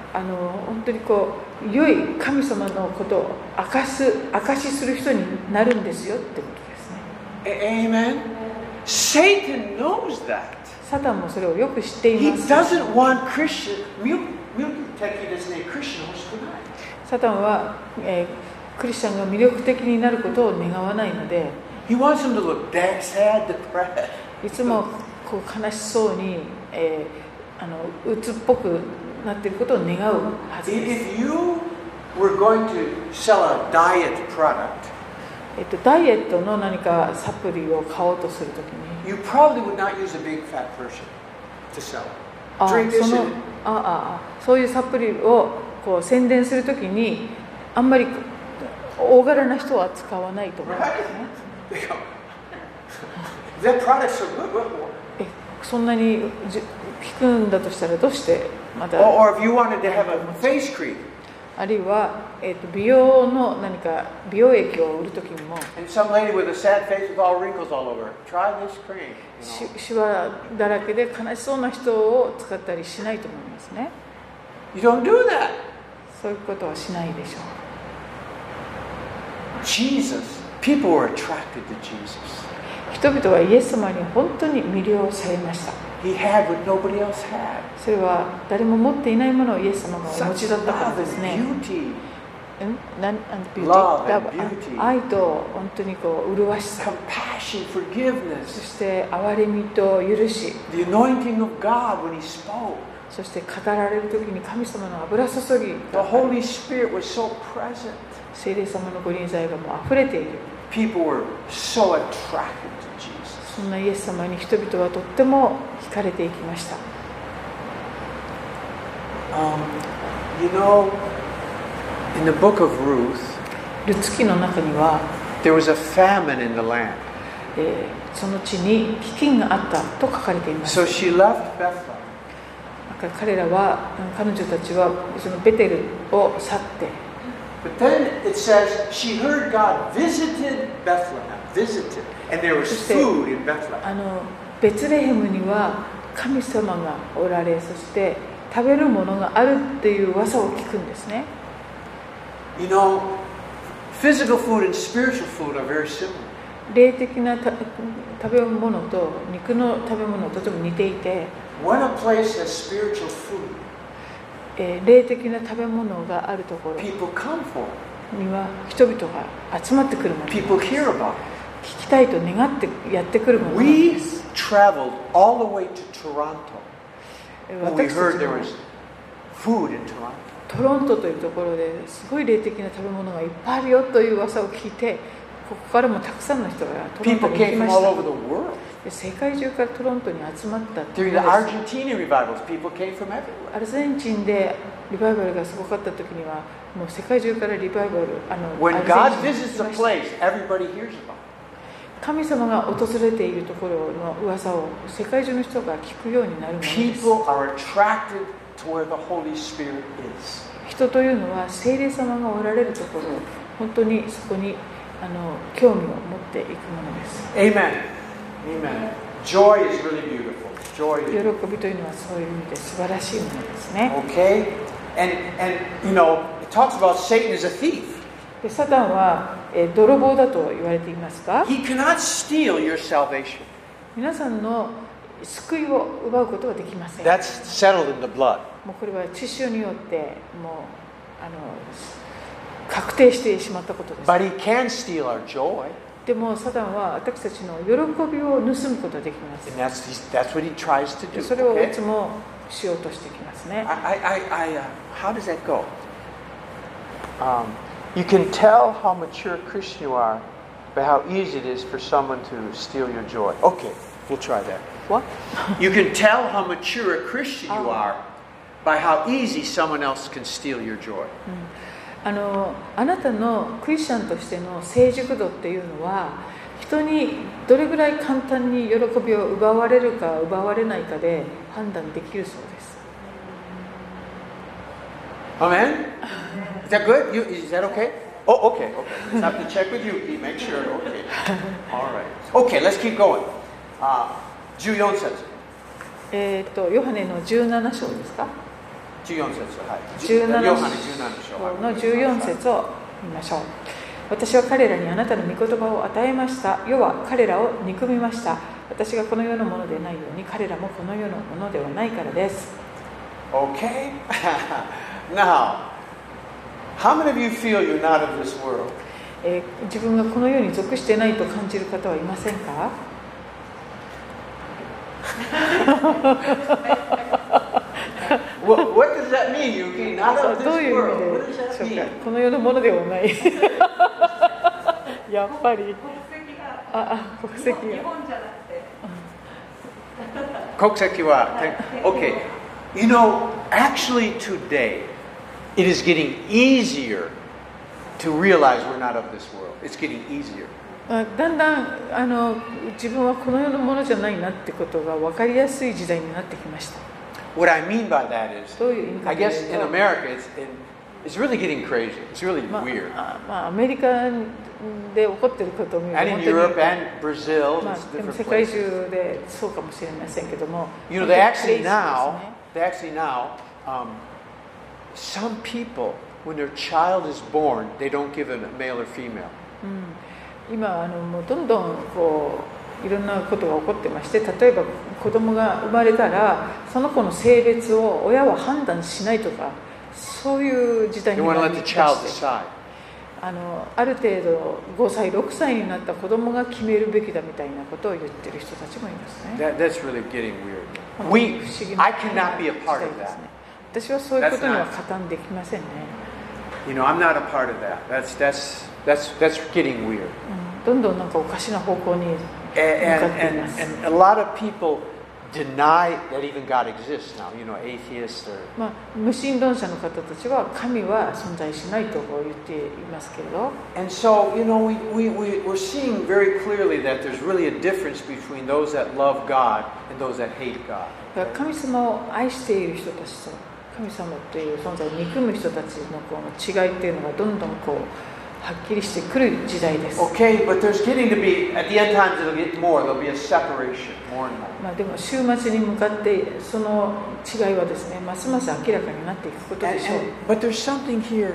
あの本当にこう良い神様のことを明かす証しする人になるんですよってことですね。 Amen. Satan knows that. サタンもそれをよく知ってい He ます。 doesn't want Christian. 魅力的ですね。クリスチャン欲しくない。 サタンは、えー、クリスチャンが魅力的になることを願わないので、 He wants them to look sad, depressed. いつもこう悲しそうに、えー、あの鬱っぽくなっていることを願うはずです。 If you were going to sell a diet product, えっと、ダイエットの何かサプリを買おうとするときに、 you probably would not use a big fat person to sell. あ Drink this その and あああそういうサプリをこう宣伝するときにあんまり大柄な人は使わないと思うんですね。 they go, that product's so good. What, what? えそんなにじ効くんだとしたらどうしてまた Or, or if you wanted to have a face cream, あるいは、えー、と美容の何か美容液を売るときにも and some lady with a sad face with all wrinkles all over, try this cream. し You know? シワだらけで悲しそうな人を使ったりしないと思いますね。 You don't do that. そういうことはしないでしょう。 Jesus, people were attracted to Jesus. 人々はイエス様に本当に魅了されました。 He had what nobody else had. それは誰も持っていないものをイエス様がお持 Such ちだったから love です and ね。 beauty, うんなん and beauty Love and Love beauty. あ愛と本当にこう麗しさ、 compassion, そ forgiveness, して憐れみと許し、 the anointing of God when He spoke. そして語られる時に神様の油注ぎ The が Holy Spirit was so present. 聖霊様のご臨在がもう溢れている。 People were so attracted to Jesus. そんなイエス様に人々はとっても惹かれていきました。 Um, you know, in the book of Ruth, ルツ記の中には、 there was a famine in the land. えーその地に飢饉があったと書かれています。 So she left Bethlehem. だから彼らは、彼女たちはそのベテルを去って、 But then it says she heard God visited Bethlehem, visited, and there was food in Bethlehem. あのベツレヘムには神様がおられ、そして食べるものがあるっていう噂を聞くんですね。 You know, physical food and spiritual food are very similar. 霊的なた食べ物と肉の食べ物とても似ていて、 When a place has spiritual food, えー霊的な食べ物があるところ people come for it. には人々が集まってくるものです。 People hear about it. 聞きたいと願ってやってくるものなん We です。 traveled all the way to Toronto えー when we 私た heard ち there も was food in Toronto. トロントというところですごい霊的な食べ物がいっぱいあるよという噂を聞いて、ここからもたくさんの人がトロント People に行き came ま from し all た。 over the world. で世界中からトロントに集まったっていう During こ the とです。 Argentinian revivals, people came from everywhere. アルゼンチンでリバイバルがすごかった時にはもう世界中からリバイバルあの When アル God ゼンチンに visits 来 a ました。 place, everybody hears about it. 神様が訪れているところの噂を世界中の人が聞くようになるものです。 People are attracted to where the Holy Spirit is. 人というのは聖霊様がおられるところ、本当にそこにあの興味を持っていくものです。 Amen. Amen. Joy is really beautiful. Joy 喜 is びというのはそういう意味で素晴らしいものですね。 okay. And and you know, it talks about Satan as a thief. でサタンは、えー泥棒だと言われていますが、 He cannot steal your salvation. 皆さんの救いを奪うことはできません。 That's settled in the blood. もうこれは血潮によってもうあの確定してしまったことです。 But he can steal our joy. でもサタンは私たちの喜びを盗むことができます。 And that's that's what he tries to で do. それをい Okay? つもしようとしてきますね。 I, I, I, I uh, how does that go? Um, you can tell how mature a Christian you are by how easy it is for someone to steal your joy. Okay, we'll try that. What? You can tell how mature a Christian you Oh. are by how easy someone else can steal your joy. あのあなたのクリスチャンとしての成熟度っていうのは人にどれぐらい簡単に喜びを奪われるか奪われないかで判断できるそうです。 Amen? Is that good? You, is that okay? Oh, okay, okay. Just have to check with you, Pete. Make sure. Okay. All right. Okay, let's keep going. Uh, じゅうよん節。 えっとヨハネのじゅうなな章ですか。 じゅうよん節、はい、 じゅうななヨハネじゅうなな章のじゅうよん節を見ましょう。私は彼らにあなたの御言葉を与えました。世は彼らを憎みました。私がこの世のものでないように彼らもこの世のものではないからです。 Okay? Now, how many of you feel you're not of this world? えー、自分がこの世に属してないと感じる方はいませんか？ what, what does that mean? You're not of this どういう world. 意 What 味 does で that しょうか？ mean? この世のものではない。やっぱり。ああ、国籍が。 日本じゃなくて。 国籍は Okay. You know, actually today, it is getting easier to realize we're not of this world. It's getting easier. だんだんあの自分はこの世のものじゃないなってことが分かりやすい時代になってきました。 What I mean by that is, どういう意味か I という guess in と、 America, it's, it's really getting crazy. It's really まあ weird. あまあ、アメリカで起こっていることを見ると And in 本当に Europe and Brazil, ま it's あ、でも different 世界 places. 中でそうかもしれませんけども、 You know, 本当 they に actually クレイジーです now, ね。 they actually now, um, some people, when their child is born, they don't give them a male or female. うん、今あのもうどんどんこういろんなことが起こってまして、例えば子供が生まれたらその子の性別を親は判断しないとか、そういう時代 They に want to な let り the ま child して、 decide. あのある程度ごさいろくさいになった子供が決めるべきだみたいなことを言ってる人たちもいますね。 That, that's really getting weird. 本当に We, 不思議な I cannot be a part 時 of 代です that. ね。私はそういうことには加担できませんね。 You know, I'm not a part of that. That's that's that's that's getting weird. うん、どんどんなんかおかしな方向に And 向かってい and, ます。 and, and a lot of people deny that even God exists now. You know, atheists or まあ、無神論者の方たちは神は存在しないと言っていますけれど、 and so you know we, we, we we're seeing very clearly that there's really a difference between those that love God and those that hate God. だから神様を愛している人たちと神様という存在を憎む人たちのこの違いっていうのがどんどんこうはっきりしてくる時代です。 Okay, but there's getting to be at the end times it'll get more. There'll be a separation more and more. まあでも週末に向かってその違いはですね、ますます明らかになっていくことで And, しょう。 and, but there's something here.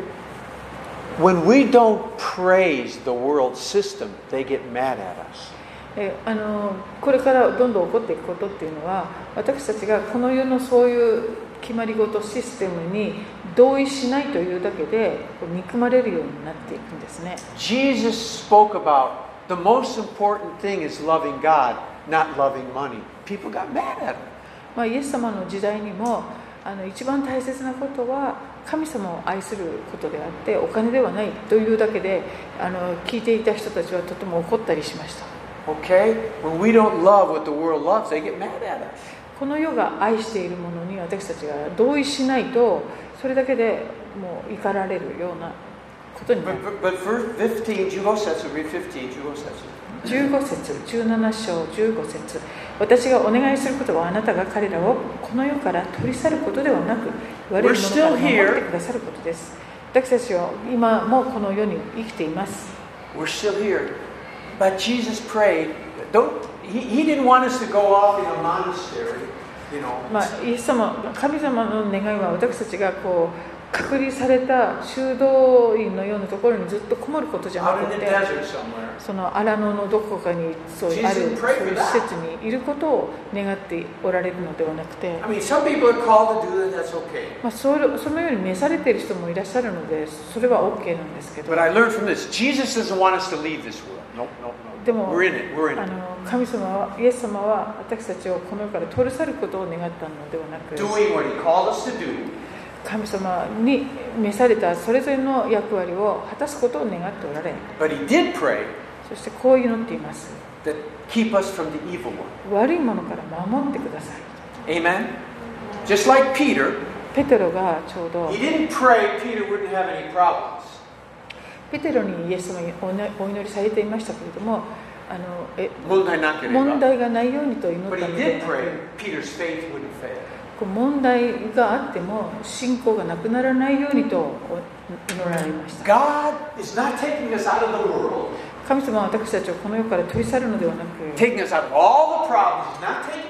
When we don't praise the world system, they get mad at us. えあのこれからどんどん起こっていくことっていうのは、私たちがこの世のそういう決まり事システムに同意しないというだけで憎まれるようになっていくんですね。 Jesus spoke about the most important thing is loving God, not loving money. People got mad at him. まあ、イエス様の時代にもあの一番大切なことは神様を愛することであってお金ではないというだけであの聞いていた人たちはとても怒ったりしました。 Okay? When we don't love what the world loves, they get mad at us. この世が愛しているものに私たちが同意しないとそれだけでもう怒られるようなことになる。 But, but, but verse fifteen, じゅうご節, read fifteen, じゅうご節. じゅうご節、じゅうなな章じゅうご節、私がお願いすることはあなたが彼らをこの世から取り去ることではなく言われるものから守ってくださることです。私たちは今もこの世に生きています。 We're still here. But Jesus prayed, don't, he, he didn't want us to go off in a monastery, you know. まあ、イエス様、神様の願いは私たちがこう隔離された修道院のようなところにずっとこもることじゃな Out く in the て、 desert somewhere. その荒野のどこかにそういうあるそういう施設にいることを願っておられるのではなくて、 I mean, some people are called to do that, that's okay. まあ、それそのように召されている人もいらっしゃるのでそれは OK なんですけど、 But I learned from this, Jesus doesn't want us to leave this world. Nope, nope, nope. でも We're in it, we're in あ it. の神様はイエス様は私たちをこの世から取り去ることを願ったのではなく、 Doing what he called us to do. 神様に召されたそれぞれの役割を果たすことを願っておられ、 But he did pray そしてこう祈っています。 that keep us from the evil one. 悪いものから守ってください。 Amen? Just like Peter, ペテロがちょうど he didn't pray Peter wouldn't have any problems. ペテロにイエス様にお祈りされていましたけれども、あのえ問題なければ。 問題がないようにと祈っ But た he ので did なく、 pray Peter's faith wouldn't fail. こう問題があっても信仰がなくならないようにと祈られました。 God is not taking us out of the world, 神様は私たちをこの世から取り去るのではなく、 taking us out of all the problems. He's not taking us out of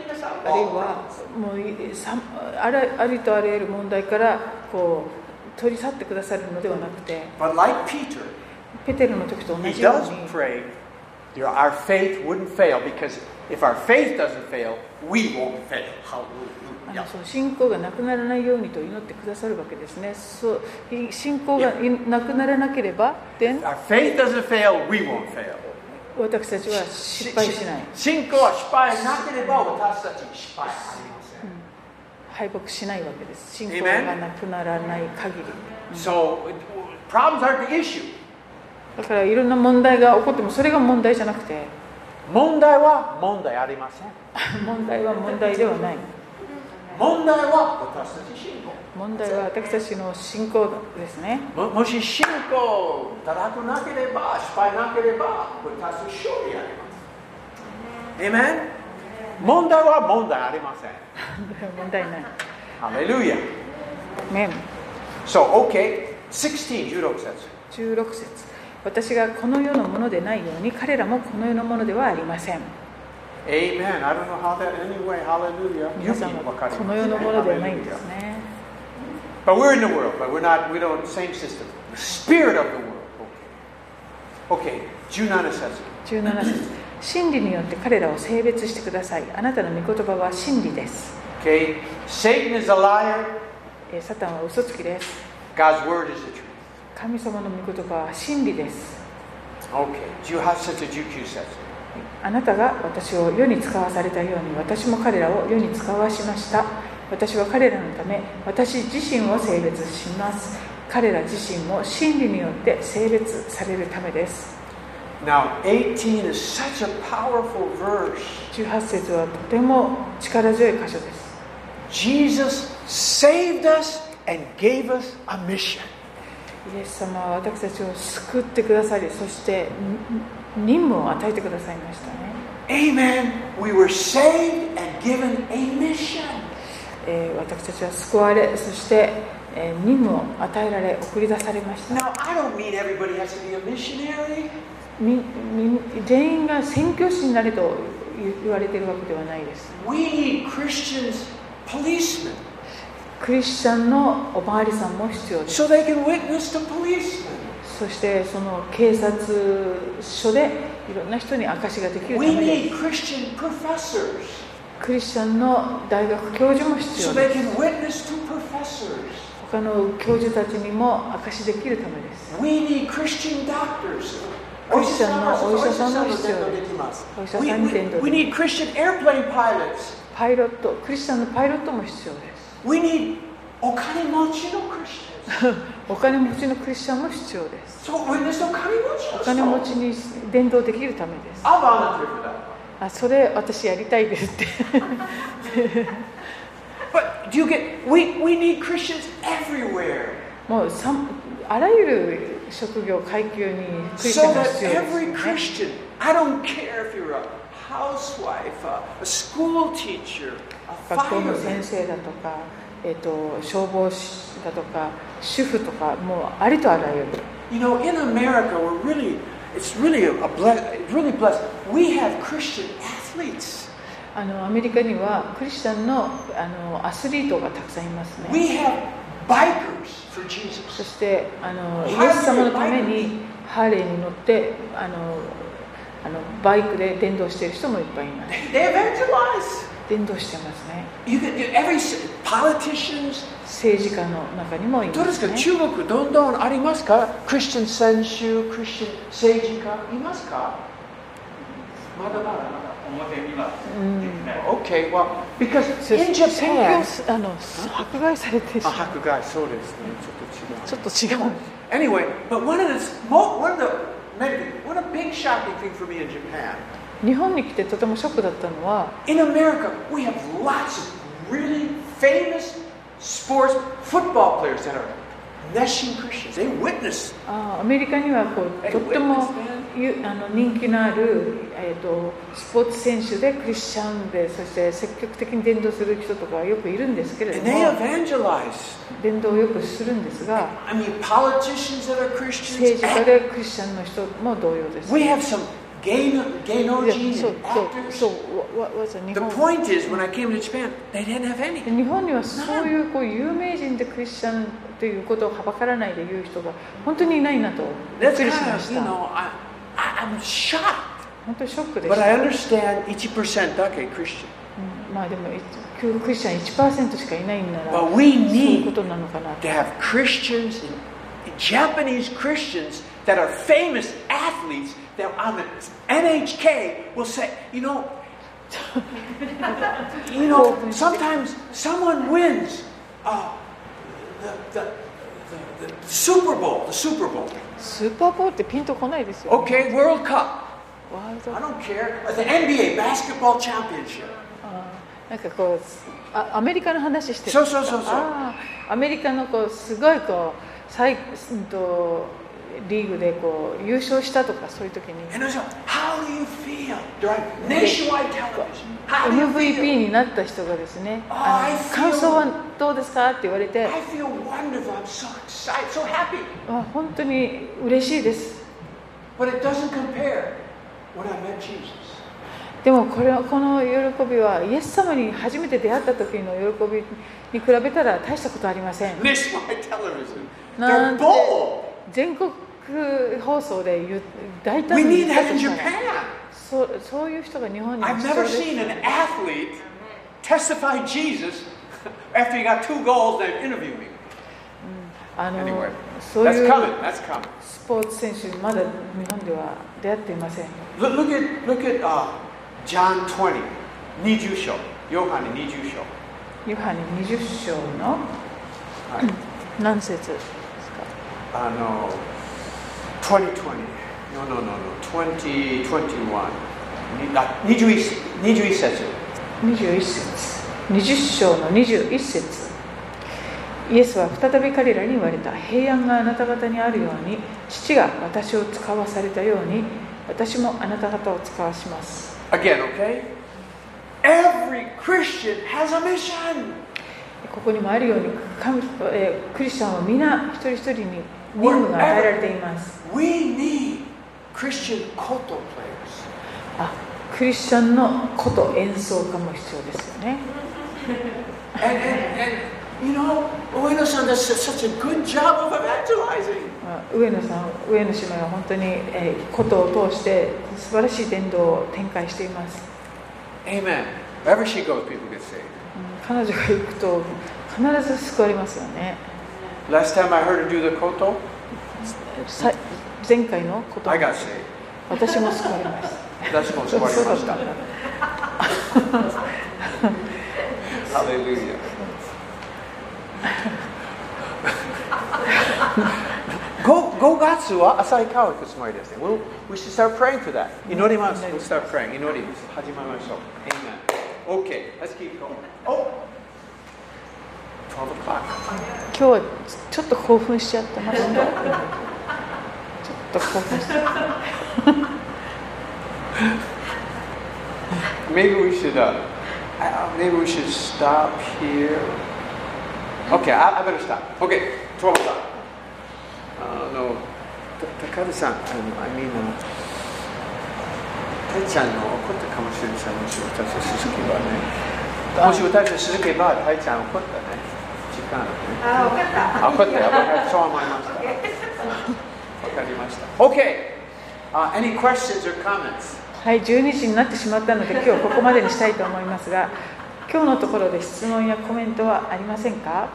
あるいはもうさあらありとあらゆる問題からこう取り去ってくださるのではなくて、 But like Peter, ペテロの時と同 he じよう does に pray that our faith wouldn't fail, because if our faith doesn't fail, we won't fail. あ Hallelujah. のそう信仰がなくならないようにと祈ってくださるわけですね。そう信仰がなくならなければ、then If our faith doesn't fail, we won't fail. 私たちは失敗しない。 信仰は失敗なければ私たち失敗ありません。 敗北しないわけです。信仰がなくならない限り。 So, problems aren't the issue. だからいろんな問題が起こってもそれが問題じゃなくて、 問題は問題ありません。 問題は問題ではない。 問題は私たち信仰。 問題は私たちの信仰ですね。 も, もし信仰高くなければ、失敗なければ、私たち勝利あります。Amen? 問題は問題ありません。 問題ない。 Hallelujah. Amen. So, okay. sixteen, じゅうろく節。 じゅうろく節。私がこの世のものでないように、彼らもこの世のものではありません。 Amen. I don't know how that anyway. Hallelujah. 皆さんはこの世のものではないんですね。 But we're in the world, but we're not, we don't, same system. The spirit of the world. Okay. Okay. じゅうなな節。 じゅうなな節。真理によって彼らを性別してください。あなたの御言葉は真理です。 Okay. Satan is a liar. サタンは嘘つきです。 God's word is the truth. 神様の御言葉は真理です。 Okay. じゅうはち節、じゅうきゅう節。 あなたが私を世に使わされたように、私も彼らを世に使わしました。私は彼らのため、私自身を性別します。彼ら自身も真理によって性別されるためです。 Now, eighteen is such a powerful verse. じゅうはち節はとても力強い箇所です。 Jesus saved us and gave us a mission. イエス様は私たちを救ってくださり、そして任務を与えてくださいましたね。 Amen. We were saved and given a mission. えー、私たちは救われ、そして、えー、任務を与えられ、送り出されました。 Now, I don't mean everybody has to be a missionary. みみ全員が宣教師になれと言われているわけではないです。 We need Christians, policemen. クリスチャンのおまわりさんも必要です。 So they can witness to policemen. そしてその警察署でいろんな人に証しができるた We めで need Christian professors. クリスチャンの大学教授も必 So 要 they です。 can witness to professors. 他の教授たちにも証しできるためです。 We need Christian doctors. クリスチャンのお医者さんも必要です。お医者 We, さんに we, 伝道 we で need Christian airplane pilots. パイロット、クリスチャンのパイロットも必要です。 We need お金持ちの Christians. お金持ちのクリスチャンも必要です。 So witness お金持ちの人。 お金持ちに伝道できるためです。 I'll volunteer for that. あ、それ私やりたいですって。 But do you get? We we need Christians everywhere. もうさあらゆる職業階級にクリスチャ So ンが that 必要です、 every ね。 Christian, I don't care if you're a housewife, a, a school teacher, a 学校の先 fireman. 生だとか、えー、と消防士だとか主婦とかもうありとあらゆる。 You know, in America, we're really, it's really a, a bless, really blessed. We have Christian athletes. あのアメリカにはクリスチャンの、あのアスリートがたくさんいますね。 We have bikers for そ Jesus. してあのイエス様のためにハーレーに乗ってあのあのバイクで伝道している人もいっぱいいます。 They evangelize. 伝道してますね。 You can, every politicians. 政治家の中にもいどうでかますすね。 中国どんどんありますかクリスチャン選手、クリスチャン政治家いますかまだまだまだ表にはうんできない。 Okay, well, because そ in 宣 Japan, 教あの迫害されてしまう。 迫害そうですね、ちょっと違う。 ちょっと違う。 Anyway, but one of the one of the maybe one of the big shocking thing for me in Japan. 日本に来てとてもショックだったのは、 In America, we have lots of really famous sports football players that are Nation Christians. They witness. あアメリカにはこうとってもゆあの人気のある、えー、とスポーツ選手でクリスチャンでそして積極的に伝道する人とかよくいるんですけれど And they も evangelize. 伝道をよくするんですが I mean, politicians that are Christians. 政治家でクリスチャンの人も同様です。 We have some 芸能芸能人 Yeah, so, and so, actors. so what was it? The point is, when I came to Japan, they didn't have any. 日本にはそういう、こう有名人でクリスチャンということをはばからないで言う人が本当にいないなとびっ That's くりし kind ま of, し you た。 know, I, I, I'm shocked. 本当にショックでし But た。 I understand one percent だけ Christian. うん、まあでもクリスチャン いちパーセント しかいないんなら、 But we そういう need ことなのかな to と。 have Christians, Japanese Christians that are famous athletes that on the N H K will say, you know, you know, sometimes someone wins uh, the, the, the, the Super Bowl, the Super Bowl. スーパーボールってピンとこないですよ、ね。 Okay, World Cup. ワールド I don't care. The N B A basketball championship. あーなんかこうあアメリカの話してる。 そうそうそうそう。 あーアメリカのこうすごいこう最うんとリーグでこう優勝したとかそういう時に And I was like, how do you feel? Right? Nationwide television. How do エ you ムブイピー feel? になった人がですね、 Oh, あ I の feel- 感想はどうですかって言われて、 I feel wonderful. I'm so excited, so happy. あ本当に嬉しいです。 But it doesn't compare when I met Jesus. でもこれはこの喜びはイエス様に初めて出会った時の喜びに比べたら大したことありません。 Nationwide television. な They're んて bold. 全国放送で言う大 We 胆に need 言っ that て in るから Japan. そう、そういう人が日本に I've 必要 never です。 seen an athlete testify Jesus after he got two goals and interview me. あの Anyway, そうい that's う coming. That's coming. スポーツ選手まだ日本では出会っていません。 Look, look at look at uh, John twenty. 二十章。ヨハネ二十章。 ヨハネにじゅっ章のはい。 何節ですか？ あの、twenty twenty. No, no, no, no. twenty twenty-one. にあ、二十一、二十一節。 にじゅういち節。にじゅっ章のにじゅういち節。イエスは再び彼らに言われた。平安があなた方にあるように、父が私を使わされたように、私もあなた方を使わします。 Again, okay? Every Christian has a mission. ここにもあるように、神えークリスチャンは皆一人一人に任務が与えられています。 We need Christian koto players. あ、クリスチャンの琴演奏家も必要ですよね。 And, and, and you know, Ueno-san does such a good job of evangelizing. まあ上野さん、上野姉妹は本当に、えー、琴を通して素晴らしい伝道を展開しています。 Amen. Wherever she goes, people get saved. うん彼女が行くと必ず救われますよね。 Last time I heard her do the koto, さ前回のこと I got saved. 私も救われました。 私も救われました。Hallelujah.ごがつは旭川行くつもりですね。We'll, we should start praying for that. 祈ります。We'll start praying. 祈ります。始まりましょう。Amen. Okay, let's keep going. Oh! twelve o'clock. 今日はちょっと興奮しちゃってました。ちょっと興奮しちゃった。 Maybe we should, uh, uh, maybe we should stop here. Okay, I, I better stop. Okay, twelve o'clock. Uh, no, Takada-san, I mean, uh, たいちゃんの怒ったかもしれないし、もし私たち続けばね。もし私たち続けば、たいちゃん怒ったね。時間ね。 あ、分かった。 あ、怒ったよ。僕はそう思いました。わかりました。Okay, uh, any questions or comments? はい、じゅうにじになってしまったので今日はここまでにしたいと思いますが、今日のところで質問やコメントはありませんか？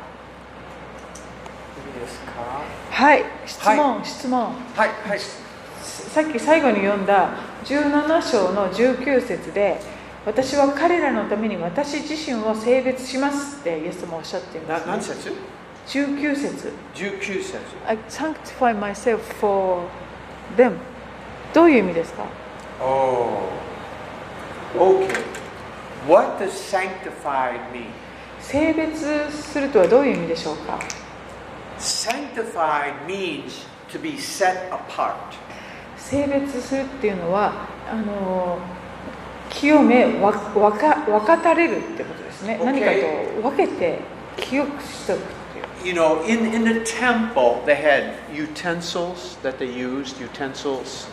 いいですか？ はい、質問、 はい、 質問。 はい、はい。 さっき最後に読んだじゅうなな章のじゅうきゅう節で、私は彼らのために私自身を性別しますってイエスもおっしゃっています、ね。 何節？ じゅうきゅう節。 じゅうきゅう節。 I sanctify myself for them。どういう意味ですか？ Oh, okay. What does sanctified mean? 性別するとはどういう意味でしょうか？ Sanctified means to be set apart. 性別するっていうのはあの清めわわか分かたれるってことですね。 Okay. 何かと分けて清くしておくっていう。 You know, in, in the temple, they had utensils that they used, utensils.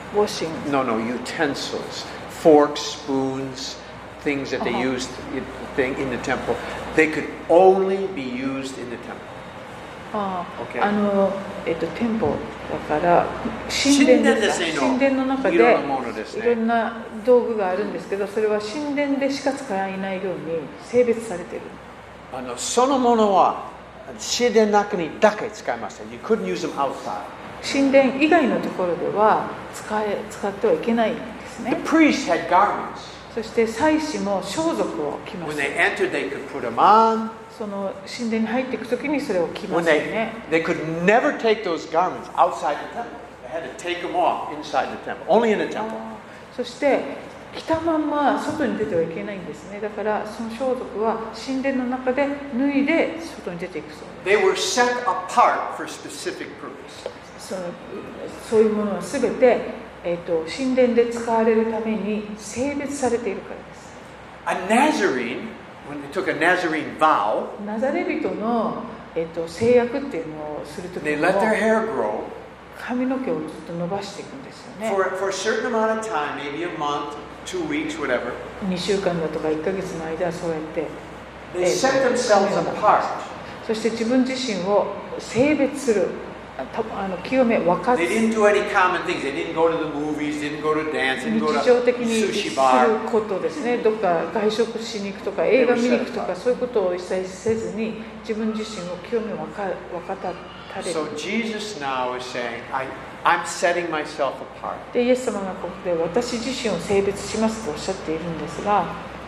washing. No, no, utensils, forks, spoons, things that they Uh-huh. used in, thing in the temple. They could only be used in the temple. ああ、 Okay. あの、えっと、店舗だから神殿ですか。神殿の中でいろんな道具があるんですけど、それは神殿でしか使えないように性別されている。 あのそのものは神殿の中にだけ使いました。You couldn't use them outside. 神殿以外のところでは使え使ってはいけないんですね。 The priests had garments. そして祭司も装束を着ま When す。 they entered, they could put them on. その神殿に入っていくときにそれを着ま When すよ they ね。 they could never take those garments outside the temple. They had to take them off inside the temple. Only in the temple. そして着たまんま外に出てはいけないんですね。だからその装束は神殿の中で脱いで外に出ていくそうです。 They were set apart for specific purpose. そのそういうものはすべて、えー、と神殿で使われるために性別されているからです。 A Nazarene, when they took a Nazarene vow, ナザレ人の、えー、と制約っていうのをするとき they に let も their hair grow 髪の毛をずっと伸ばしていくんですよね。 for, for a certain amount of time, maybe a month, two weeks, whatever. にしゅうかんだとかいっかげつの間はそうやって、 They set themselves apart. そして自分自身を性別する、たあの清め分かつ They didn't do any common things. They didn't go to the movies, didn't go to dance, 日 didn't go 常 to 的にす sushi る bar. ことですね。どっか外食しに行くとか映画見に行くとかそういうことを一切せずに自分自身を清め分か分かたれる。 So Jesus now is saying, I, I'm setting myself apart. でイエス様がここで私自身を性別しますとおっしゃっているんですが、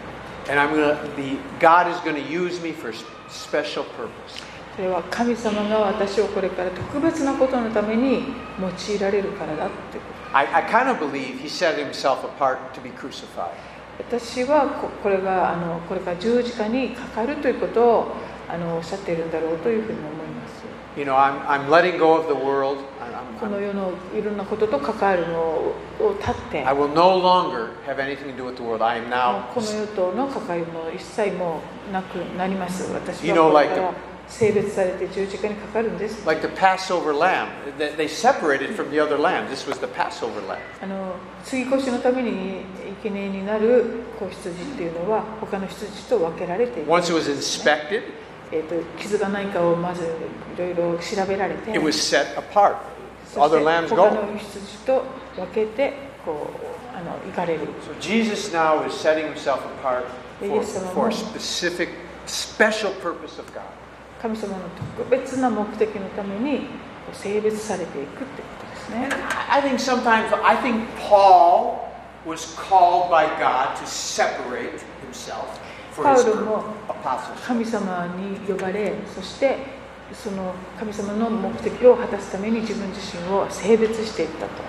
And I'm gonna be, God is going to use me for special purpose. それは神様が私をこれから特別なことのために用いられるからだっていうこと。 I, I kind of believe he set himself apart to be crucified. 私はここれがあのこれから十字架にかかるということをあのおっしゃっているんだろうというふうに思います。 You know, I'm, I'm letting go of the world. I'm, この I'm, 世のいろんなことと関わるのを立って、 I will no longer have anything to do with the world. I am now, この世との関わりも一切もなくなります。私 You は know, これ like か the- ら性別されて十字架にかかるんです。 like the Passover lamb. They, they separated from the other lamb. This was the Passover lamb. あの継ぎ越しのために生贄になる子羊っていうのは他の羊と分けられている。 Once it was inspected, えーと傷がないかをまずいろいろ調べられて、 it was set apart. そして Other lambs 他 go. の羊と分けてこうあの行かれる。 So Jesus now is setting himself apart for, for a specific, special purpose of God. 神様の特別な目的のために性別されていくってことですね。 And I think sometimes, I think Paul was called by God to separate himself for パ his ウロも apostleship. 神様に呼ばれ、そしてその神様の目的を果たすために自分自身を性別していったと。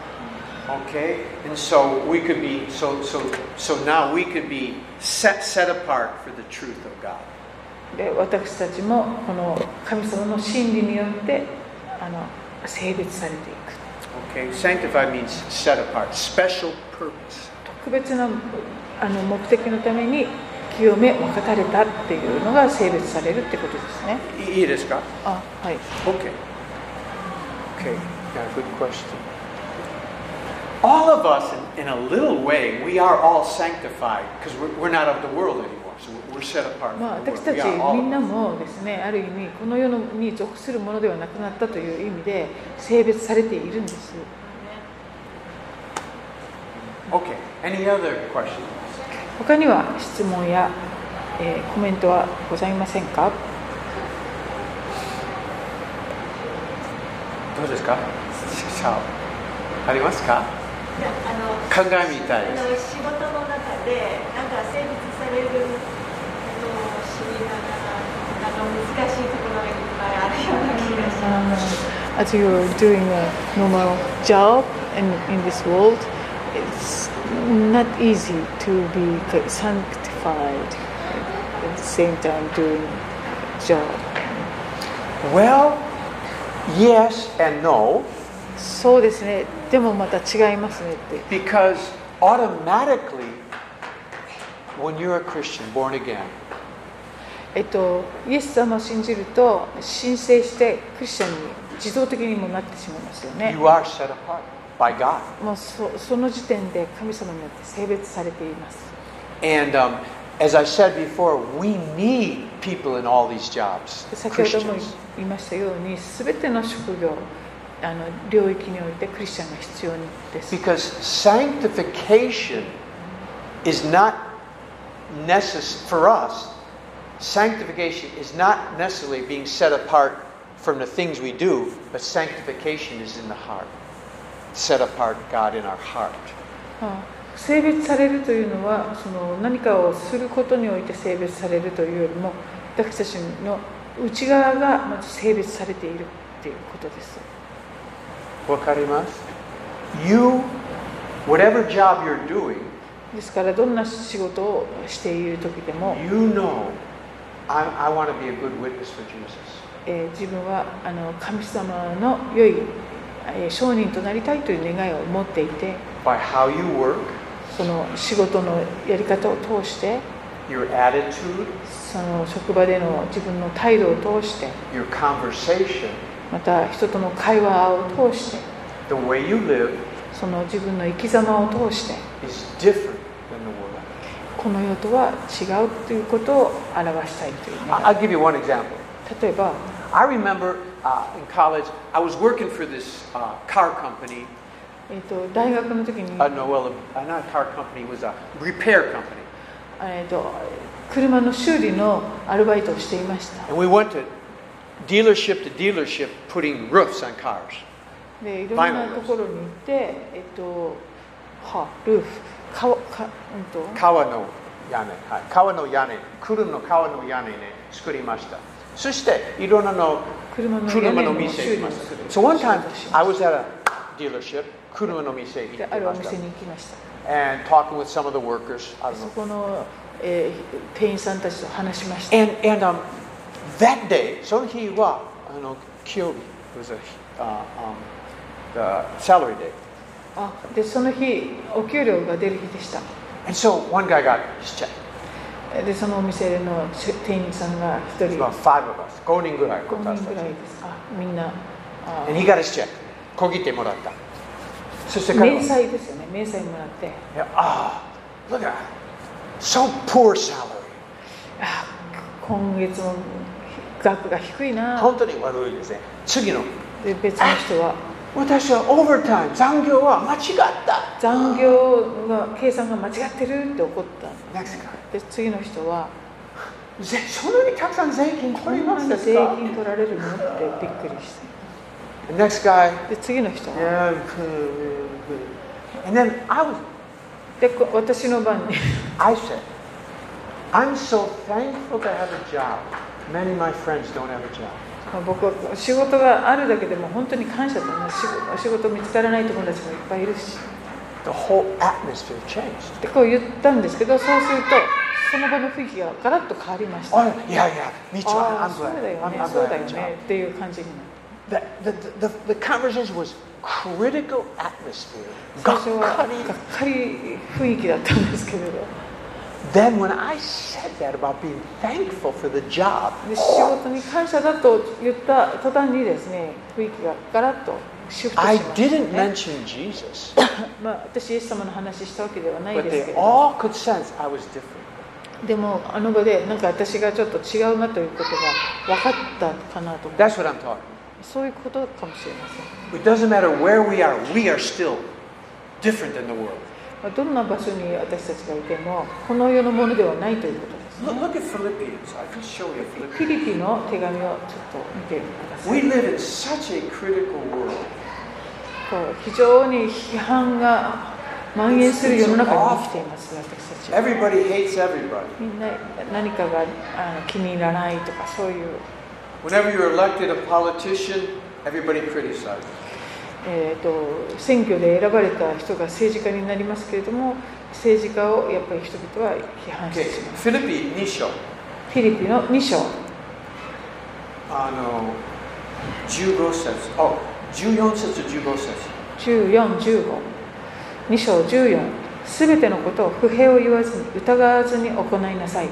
Okay, and so we could be, so so so now we could be set set apart for the truth of God. で私たちもこの神様の真理によってあの性別されていく。 Okay, sanctified means set apart, special purpose. 特別なあの目的のために清め分かたれたっていうのが性別されるってことですね。 いいですか? あ、はい。 Okay. Okay, yeah, good question. All of us, in, in a little way, we are all sanctified because we're, we're not of the world anymore. So we're set apart まあ from the 私た world. ち We are all みんなもですね、ある意味この世のに属するものではなくなったという意味で性別されているんです。 Okay, any other questions? 他には質問や、えーコメントはございませんか？ どうですか? さあ、ありますか? いやあの考えみたいです。 あの仕事の中でなんか性別されることを知りながらなんか難しいところがいっぱいあるような気がします。 As you're doing a normal job in, in this world, it's not easy to be sanctified at the same time doing job. Well, yes and no. そうですね。でもまた違いますねって。 Because automatically, when you're a Christian, born again, えっと、イエス様を信じると申請してクリスチャンに自動的にもなってしまいますよね。 you are set apart. by God. もう そ, その時点で神様によって性別されています。 And um, as I said before, we need people in all these jobs. 先ほども Christians. 言いましたように、すべての職業、あの領域においてクリスチャンが必要です。 Because sanctification is not necessary for us. Sanctification is not necessarily being set apart from the things we do, but sanctification is in the heart. Set apart God in our heart. 性別されるというのは、その何かをすることにおいて性別されるというよりも、私たちの内側がまず性別されているということです。 わかります? You, whatever job you're doing, ですからどんな仕事をしている時でも、 you know, I, I want to be a good witness for Jesus. えー、自分はあの神様の良い、えー、証人となりたいという願いを持っていて、 By how you work, その仕事のやり方を通して、 your attitude, その職場での自分の態度を通して、 your conversation, また人との会話を通して、 the way you live その自分の生き様を通して、 is different than the world. この世とは違うということを表したいという願い。 I'll give you one example. 例えば、 I remember uh, in college, I was working for this uh, car company. えー、と大学の時に、 Uh, no, well, uh, not a car company, it was a repair company. えー、と車の修理のアルバイトをしていました。 And we went to dealership to dealership putting roofs on cars. でいろんなところに行って、えっ、とはルーフ、かわかうんと川の屋根、はい、川の屋根、車の川の屋根ね、作りました。そしていろんなの車の屋車の根の店行きまし修理をする。 た。So one time 仕事をしま I し was at a dealership, 車の店行きた。であるおました。 店に行きました。 And talking with some of the workers, I don't そ know. この、えー、店員さんたちと話しました。 And, and um, that day, その日はあの金曜日、it was a, uh, um, the salary day. あでその日お給料が出る日でした。 And so one guy got his check. でそのお店の店員さんが一 It's 人 about five of us, ごにんぐらいごにんぐらい私たち。 です。あみんなあ And he got his check. 小切手もらった。そして彼は明細ですよね。明細もらって、 Ah, look at that. So poor salary. あ今月の額が低いな。 本当に悪いですね。次の。 で別の人は私はオーバータイム、残業は間違った。 残業が計算が間違ってるって怒った。 Next guy. で次の人はぜそんなにたくさん税金こ取りんなに税ますですか？ 金取られるのってびっくりして。 The next guy. で次の人は Yeah. And then I was, でこ私の番に I said, I'm so thankful to have a job. Many of my friends don't have a job. 僕は仕事があるだけでも本当に感謝だな。仕事仕事見つからない友達もいっぱいいるし The whole atmosphere changed. でこう言ったんですけど、そうするとその場の雰囲気がガラッと変わりました。 Oh, yeah, yeah. Me too. ああ I'm そう glad. だよ I'm, ね I'm そう glad だ I よ have a ね job. っていう感じになって The, the, the, the conversation was critical atmosphere. 最初はがっがっかり。 かり雰囲気だったんですけれど、 Then when I said that about being thankful for the job, で仕事に感謝だと言った途端にですね、雰囲気がガラッとシフトし I ました、 didn't ね。 mention Jesus, まあ私イエス様の話したわけではない but ですけ they れど、 all could sense I was different. でもあの場でなんか私がちょっと違うなということが分かったかなと思う。 That's what I'm talking. そういうことかもしれません。 It doesn't matter where we are, we are still different than the world. まあどんな場所に私たちがいてもこの世のものではないということですね。 Look, look at Philippians. I can show you フィ Philippians. リピの手紙をちょっと見てくださ We い。 live in such a critical world. こう非常に批判が蔓延する世の中に生きています私たちは。 Everybody hates everybody. みんな何かがあの気に入らないとかそういう、 Whenever you're elected a politician, everybody criticizes. えー、と選挙で選ばれた人が政治家になりますけれども、政治家をやっぱり人々は批判して Okay, しまう。 Philippi に章。 フィリピのに章あのじゅうご節、あ、じゅうよん節、じゅうご節。 じゅうよん、じゅうご、に章じゅうよん、すべてのことを不平を言わずに疑わずに行いなさい。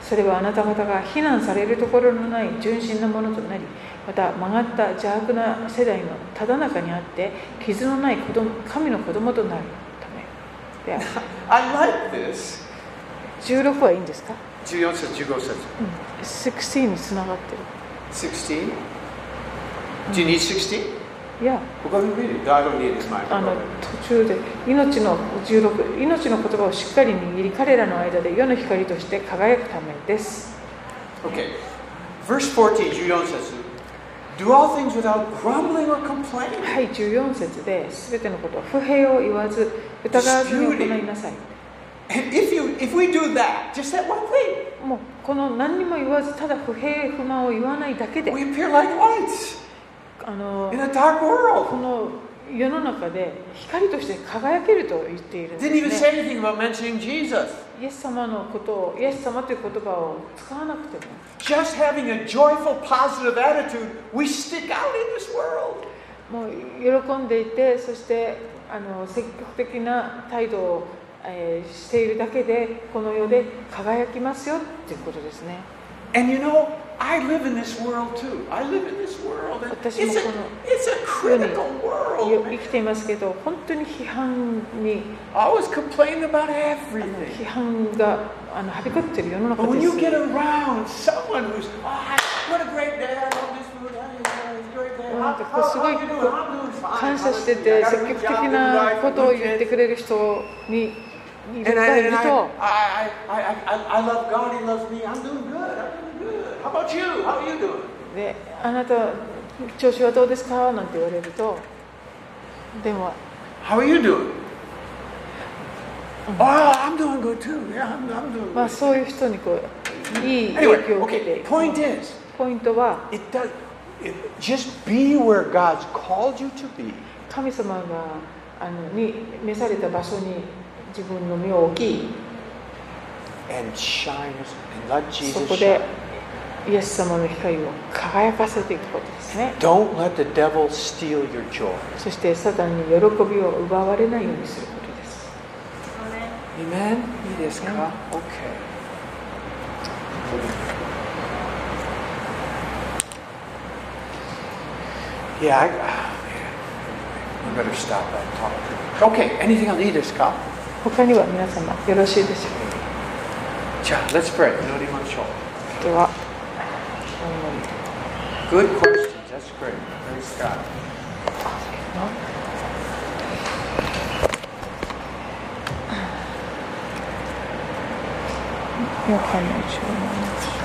それはあなた方が非難されるところのない純真なものとなり、また曲がった邪悪な世代のただ中にあって傷のない子供神の子供となるためである。 I like this. じゅうろくはいいんですか？ じゅうよん節、じゅうご節。 うん、じゅうろくにつながってる。 じゅうろく? Do you need sixteen? いや、 We're going to read it. I don't need it. It's mine. あの途中で命のじゅうろく、命の言葉をしっかり握り、彼らの間で世の光として輝くためです。 Okay. Verse fourteen, じゅうよん節. Do all things without grumbling or complaining. はい、じゅうよん節で、すべてのことは不平を言わず、疑わずに行いなさい。 And if you, if we do that, just that one thing, もうこの何にも言わず、ただ不平不満を言わないだけで、 we appear like lights あの in a dark こ world. の世の中で光として輝けると言っているん Didn't even です say ね。 anything about mentioning Jesus. イエス様のことを、イエス様という言葉を使わなくても、 Just having a joyful, positive attitude, we stick out in this world. もう喜んでいて、そしてあの積極的な態度を、えー、しているだけで、この世で輝きますよということですね。 And you know, I live in this world too. I live in this world. And it's, a, it's a critical world. 生きていますけど、本当に批判に Always complain about あの everything. 批判があのはびこっている世の中 But when で you す。 get around someone who's, oh, what a great day, I love this food, it's a great day. なん How, かこう how, すごい how you doing? I'm doing fine. 感謝してて、 I got 積 a 極 good 的 job, な good ことを life, 言 good って kids. くれる人にい And る I, い and る I, と、 I, I, I, I, I love God, He loves me. I'm doing good. I'm doing good. How about you? How are you doing? で、あなた調子はどうですかなんて言われると、でも How are you doing? Oh, I'm doing good too. Yeah, I'm, I'm doing まあ good. そういう人にこういい影 Anyway, 響を受けて okay, いく。 point is, ポイントは、 it does, it, just be where God's called you to be. 神様があのに召された場所に自分の身を置き、 And shine, and let そ Jesus こで shine. イエス様の光を輝かせていくことですね。 Don't let the devil steal your joy. そしてサタンに喜びを奪われないようにすることです。 Amen? いいですか? Okay. Yeah, I, oh, man. We better stop that talk. Okay, anything else? いいですか? 他には皆様よろしいでしょうか。 じゃあ、let's pray. 祈りましょう。 では、 Good questions. That's great. Praise God. ヨハネじゅうなな章。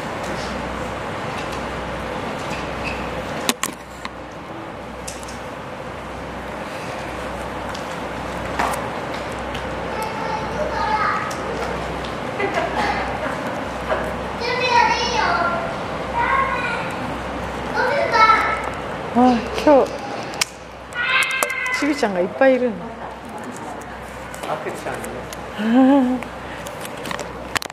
あ、今日ちびちゃんがいっぱいいるの。 赤ちゃんね。